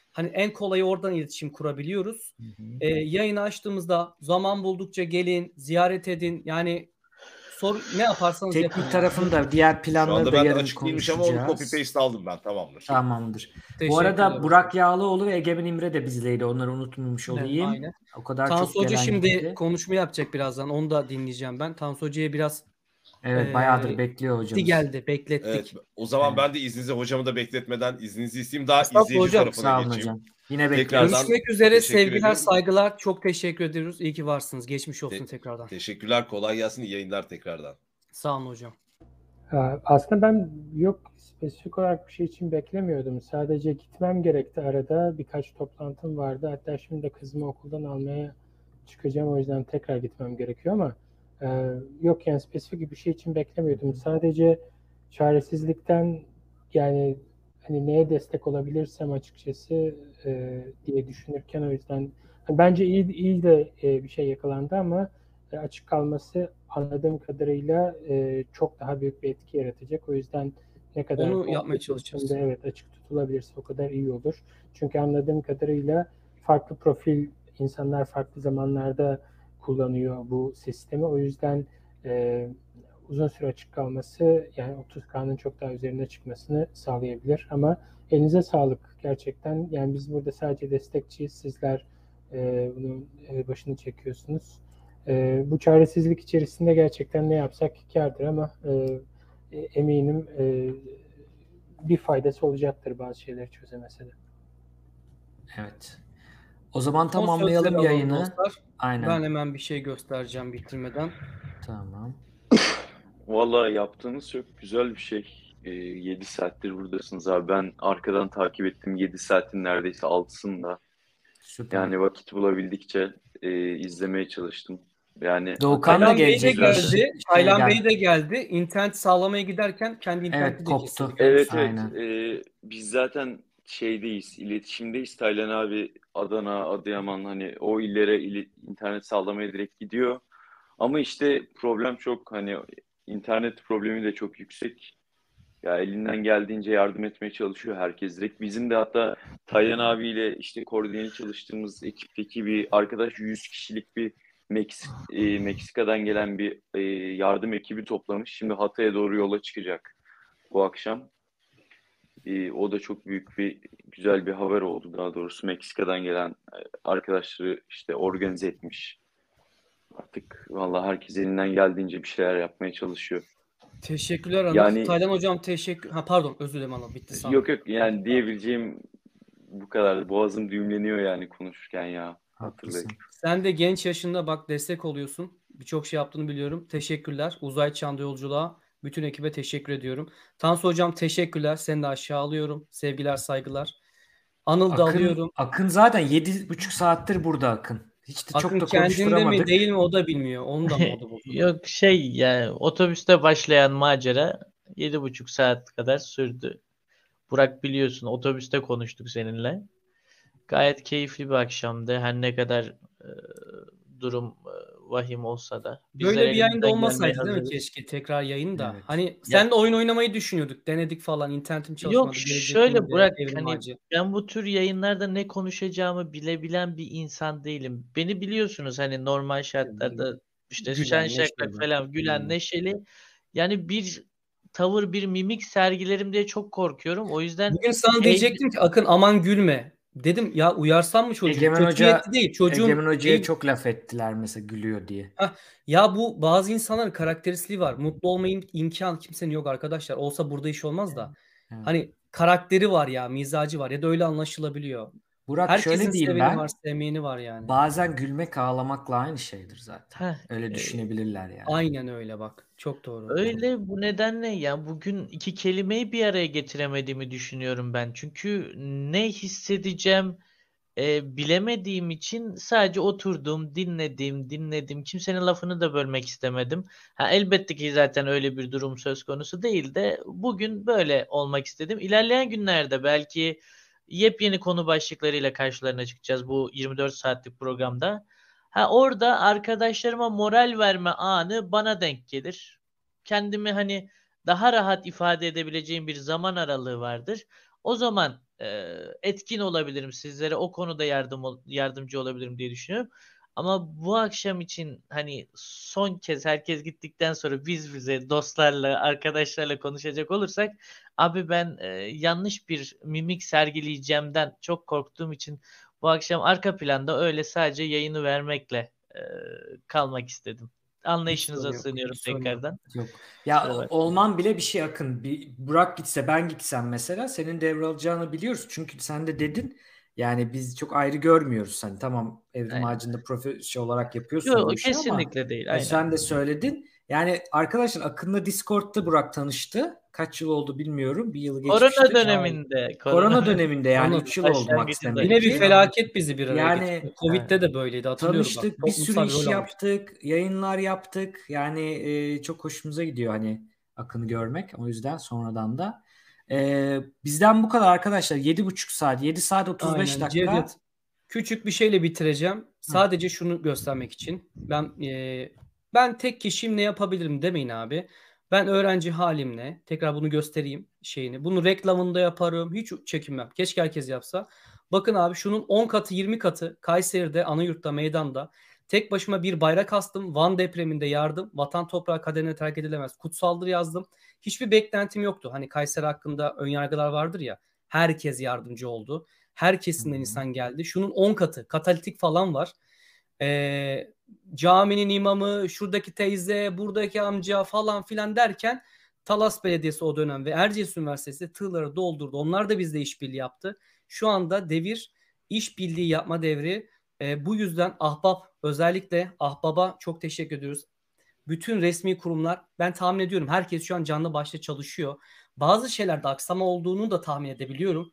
Hani en kolayı oradan iletişim kurabiliyoruz. Hı hı. Ee, yayını açtığımızda zaman buldukça gelin, ziyaret edin. Yani sor ne yaparsanız yapın. Teknik yani. tarafını da diğer Şu planları anda da ben de yarın açık değilmiş ama onu copy konuşacağız. paste aldım ben, tamamdır. Tamamdır. Bu Teşekkürler arada hocam. Burak Yağlıoğlu ve Egemen İmre de bizleydi. Onları unutmamış Evet, olayım. aynen. O kadar Tansu çok Hoca gelen şimdi gitti. konuşma yapacak birazdan. Onu da dinleyeceğim ben. Tansu Hoca'ya biraz Evet, eee, bayağıdır bekliyor gitti hocamız. geldi. Beklettik. Evet, o zaman Evet. ben de izninizi, hocamı da bekletmeden izninizi isteyeyim. Daha Estağfurullah izleyici hocam. tarafına Sağ olun geçeyim. hocam. Yine bekliyoruz. Tekrardan Görüşmek üzere. teşekkür Sevgiler, ediyorum. saygılar. Çok teşekkür ediyoruz. İyi ki varsınız. Geçmiş olsun Te- tekrardan. teşekkürler, kolay gelsin, iyi yayınlar tekrardan. Sağ olun hocam. Ha, Aslında ben yok spesifik olarak bir şey için beklemiyordum. Sadece gitmem gerekti arada. Birkaç toplantım vardı. Hatta şimdi de kızımı okuldan almaya çıkacağım. O yüzden tekrar gitmem gerekiyor ama e, yok yani spesifik bir şey için beklemiyordum. Sadece çaresizlikten yani hani neye destek olabilirsem açıkçası e, diye düşünürken o yüzden hani bence iyi iyi de e, bir şey yakalandı ama e, açık kalması anladığım kadarıyla e, çok daha büyük bir etki yaratacak. O yüzden ne kadar Onu bu yapmaya çalışacağız. de evet açık tutulabilirse o kadar iyi olur. Çünkü anladığım kadarıyla farklı profil insanlar farklı zamanlarda kullanıyor bu sistemi. O yüzden e, uzun süre açık kalması yani otuz K'nın çok daha üzerine çıkmasını sağlayabilir. Ama elinize sağlık gerçekten. Yani biz burada sadece destekçiyiz. Sizler e, bunun e, başını çekiyorsunuz. E, bu çaresizlik içerisinde gerçekten ne yapsak kârdır ama e, e, eminim e, bir faydası olacaktır bazı şeyleri çözemese de. Evet. O zaman Son tamamlayalım sözleri alalım yayını. dostlar. Aynen. Ben hemen bir şey göstereceğim bitirmeden. Tamam. Vallahi yaptığınız çok güzel bir şey. Ee, yedi saattir buradasınız abi. Ben arkadan takip ettim yedi saatin neredeyse altısında. Süper. Yani vakit bulabildikçe e, izlemeye çalıştım. Yani Doğukan da Taylan Bey de gelecekmiş. geldi. Şey Taylan gel- Bey de geldi. İnternet sağlamaya giderken kendi interneti Evet, de koptu. kesildi. evet evet Aynen. e, biz zaten şeydeyiz, iletişimdeyiz. Taylan abi Adana, Adıyaman hani o illere ili- internet sağlamaya direkt gidiyor. Ama işte problem çok hani internet problemi de çok yüksek. Ya elinden geldiğince yardım etmeye çalışıyor herkes direkt. Bizim de hatta Taylan abiyle işte koordineli çalıştığımız ekipteki bir arkadaş yüz kişilik bir Meks e, Meksika'dan gelen bir e, yardım ekibi toplamış. Şimdi Hatay'a doğru yola çıkacak bu akşam. E, o da çok büyük bir güzel bir haber oldu daha doğrusu. Meksika'dan gelen e, arkadaşları işte organize etmiş. Artık vallahi herkes elinden geldiğince bir şeyler yapmaya çalışıyor. Teşekkürler Anıl. Yani Taylan hocam teşekkür. Ha pardon özür dilerim Anıl. Bitti sandım. yok yok yani diyebileceğim bu kadar. Boğazım düğümleniyor yani konuşurken ya. Hatırlayın. Haklısın. Sen de genç yaşında bak destek oluyorsun. Birçok şey yaptığını biliyorum. Teşekkürler. Uzay çağında yolculuğa bütün ekibe teşekkür ediyorum. Tansu hocam teşekkürler. Seni de aşağı alıyorum. Sevgiler, saygılar. Anıl da Akın, alıyorum. Akın zaten yedi buçuk saattir burada Akın. Hiç de çok Akın da kendinde mi konuşturamadık. değil mi o da bilmiyor. Onu da mı o da bozuldu? Yok şey yani otobüste başlayan macera yedi buçuk saat kadar sürdü. Burak biliyorsun otobüste konuştuk seninle. Gayet keyifli bir akşamdı. Her ne kadar e, durum e, vahim olsa da. Bizler Böyle bir yayında elimizden gelmeye olmasaydı değil mi hazırız. keşke tekrar yayında. Evet. Hani sen de oyun oynamayı düşünüyorduk. Denedik falan. İnternetim çalışmadı. Yok Gelecek şöyle günde Burak Evrim hani Ağacı. ben bu tür yayınlarda ne konuşacağımı bilebilen bir insan değilim. Beni biliyorsunuz hani normal şartlarda işte Gülen, şen şakrak neşeli. falan gülen Hmm. neşeli. Yani bir tavır bir mimik sergilerim diye çok korkuyorum. O yüzden Bugün sana Hey- diyecektim ki Akın aman gülme. Dedim ya uyarsam mı çocuğu? Egemen Kötü Hoca, niyetli değil. Çocuğun Egemen Hoca'ya şey- çok laf ettiler mesela gülüyor diye. Ya bu bazı insanların karakteristiği var. Mutlu olmayın imkan kimsenin yok arkadaşlar. Olsa burada iş olmaz da. Evet. Hani karakteri var ya, mizacı var ya da öyle anlaşılabiliyor. Burak Herkesin şöyle diyeyim seveni ben. var, sevmeyeni var yani. Bazen gülmek ağlamakla aynı şeydir zaten. Heh, Öyle e, düşünebilirler yani. Aynen öyle bak. Çok doğru. Öyle bu nedenle ya bugün iki kelimeyi bir araya getiremediğimi düşünüyorum ben. Çünkü ne hissedeceğim e, bilemediğim için sadece oturdum, dinledim, dinledim. Kimsenin lafını da bölmek istemedim. Ha, elbette ki zaten öyle bir durum söz konusu değil de bugün böyle olmak istedim. İlerleyen günlerde belki yepyeni konu başlıklarıyla karşılarına çıkacağız bu yirmi dört saatlik programda. Ha orada arkadaşlarıma moral verme anı bana denk gelir. Kendimi hani daha rahat ifade edebileceğim bir zaman aralığı vardır. O zaman e, etkin olabilirim sizlere. O konuda yardım ol- yardımcı olabilirim diye düşünüyorum. Ama bu akşam için hani son kez herkes gittikten sonra biz bize dostlarla, arkadaşlarla konuşacak olursak abi ben e, yanlış bir mimik sergileyeceğimden çok korktuğum için bu akşam arka planda öyle sadece yayını vermekle e, kalmak istedim. Anlayışınıza sorun yok, sığınıyorum hiç sorun yok. tekrardan. Yok. Kusura Ya bakmayın. olman bile bir şey Akın. Bir Burak gitse ben gitsem mesela senin devralacağını biliyoruz. Çünkü sen de dedin yani biz çok ayrı görmüyoruz. Hani tamam Evrim Aynen. Ağacı'nda profesyonel olarak yapıyorsun Yok bu işi ama kesinlikle değil. e, Aynen. sen de söyledin. Yani arkadaşlar Akın'la Discord'da Burak tanıştı. Kaç yıl oldu bilmiyorum. Bir yılı Korona geçmiştir. döneminde. Korona döneminde yani Korona üç yıl oldu Max başlangıcında. Yine bir Demir'ki. felaket bizi bir araya Yani getirdi. Covid'de de böyleydi hatırlıyorum bak. tanıştık, bir sürü Toplumsal bir iş rol almıştık. yaptık, yayınlar yaptık. Yani e, çok hoşumuza gidiyor hani Akın'ı görmek. O yüzden sonradan da. E, bizden bu kadar arkadaşlar. Yedi buçuk saat, yedi saat otuz beş Aynen dakika. Cevdet. Küçük bir şeyle bitireceğim. Sadece şunu göstermek için. Ben e, ben tek kişiyim ne yapabilirim demeyin abi. Ben öğrenci halimle tekrar bunu göstereyim şeyini. Bunu reklamında yaparım. Hiç çekinmem. Keşke herkes yapsa. Bakın abi şunun on katı yirmi katı Kayseri'de Anayurt'ta meydanda tek başıma bir bayrak astım. Van depreminde yardım. Vatan toprağı kaderine terk edilemez. Kutsaldır yazdım. Hiçbir beklentim yoktu. Hani Kayseri hakkında önyargılar vardır ya. Herkes yardımcı oldu. Her kesimden insan geldi. Şunun on katı katalitik falan var. Ee, caminin imamı, şuradaki teyze, buradaki amca falan filan derken Talas Belediyesi o dönem ve Erciyes Üniversitesi tığları doldurdu. Onlar da bizle işbirliği yaptı. Şu anda devir işbirliği yapma devri. Ee, bu yüzden Ahbap özellikle Ahbap'a çok teşekkür ediyoruz. Bütün resmi kurumlar ben tahmin ediyorum herkes şu an canlı başla çalışıyor. Bazı şeylerde aksama olduğunu da tahmin edebiliyorum.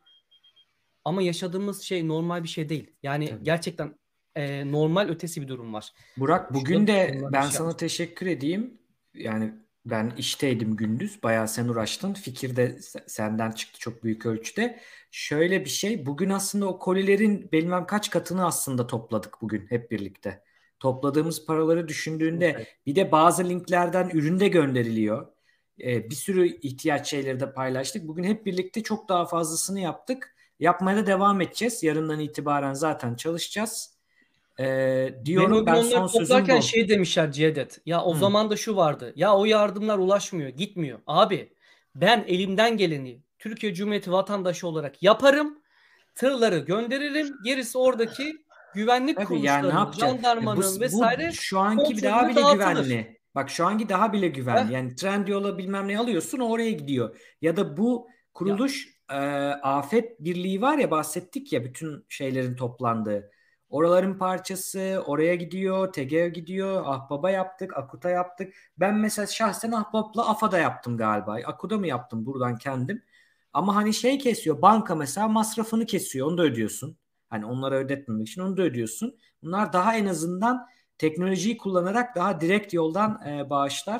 Ama yaşadığımız şey normal bir şey değil. Yani Tabii. gerçekten e, normal ötesi bir durum var. Burak bugün Şurada de bunlar bir ben şey sana yapmış. teşekkür edeyim. Yani ben işteydim gündüz. Bayağı sen uğraştın. Fikir de se- senden çıktı çok büyük ölçüde. Şöyle bir şey. Bugün aslında o kolilerin bilmem kaç katını aslında topladık bugün hep birlikte. Topladığımız paraları düşündüğünde Evet. bir de bazı linklerden ürün de gönderiliyor. Ee, bir sürü ihtiyaç şeyleri de paylaştık. Bugün hep birlikte çok daha fazlasını yaptık. Yapmaya da devam edeceğiz. Yarından itibaren zaten çalışacağız. Ee, Ben diyorum o gün ben onları son sözüm toplarken bu. şey demişler Cevdet. Ya o Hı. zaman da şu vardı. Ya o yardımlar ulaşmıyor, gitmiyor. Abi ben elimden geleni Türkiye Cumhuriyeti vatandaşı olarak yaparım. Tırları gönderirim. Gerisi oradaki güvenlik Tabii yani ne kuruluşlarının, yapacağız? E, bu jandarmanın bu vesaire şu anki bir daha kontrolüne bile dağıtılır. güvenli. Bak şu anki daha bile Heh. güvenli. Yani Trendyol'a bilmem ne alıyorsun oraya gidiyor. Ya da bu Ya kuruluş e, Afet Birliği var ya bahsettik ya bütün şeylerin toplandığı. Oraların parçası oraya gidiyor, T G O'ya gidiyor, Ahbap'a yaptık, Akut'a yaptık. Ben mesela şahsen Ahbap'la AFA'da yaptım galiba. Akut'a mı yaptım buradan kendim? Ama hani şey kesiyor, banka mesela masrafını kesiyor, onu da ödüyorsun. Hani onlara ödetmemek için onu da ödüyorsun. Bunlar daha en azından teknolojiyi kullanarak daha direkt yoldan e, bağışlar.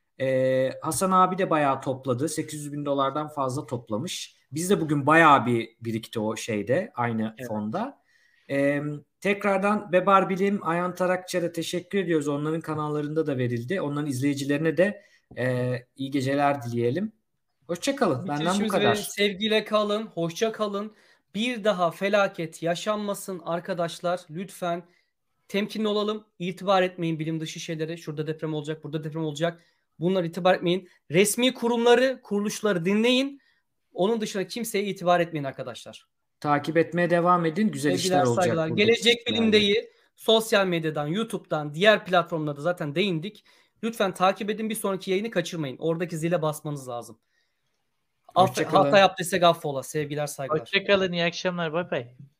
E, Hasan abi de bayağı topladı. sekiz yüz bin dolardan fazla toplamış. Biz de bugün bayağı bir birikti o şeyde aynı evet. fonda. E, tekrardan Bebar Bilim, Ayhan Tarakçı'ya teşekkür ediyoruz. Onların kanallarında da verildi. Onların izleyicilerine de e, iyi geceler dileyelim. Hoşçakalın. Benden bu Bitirişimiz kadar. ve sevgiyle kalın, hoşça kalın. Bir daha felaket yaşanmasın arkadaşlar. Lütfen temkinli olalım. İtibar etmeyin bilim dışı şeylere. Şurada deprem olacak, burada deprem olacak. Bunlar itibar etmeyin. Resmi kurumları, kuruluşları dinleyin. Onun dışında kimseye itibar etmeyin arkadaşlar. Takip etmeye devam edin. Güzel işler Sevgiler, olacak saygılar. buradaki Gelecek kişilerle. Bilim'deyi sosyal medyadan, YouTube'dan, diğer platformlarda zaten değindik. Lütfen takip edin. Bir sonraki yayını kaçırmayın. Oradaki zile basmanız lazım. Aff- Hoşçakalın. hata yaptıysak affola. Sevgiler, saygılar. Hoşçakalın, iyi akşamlar, bay bay.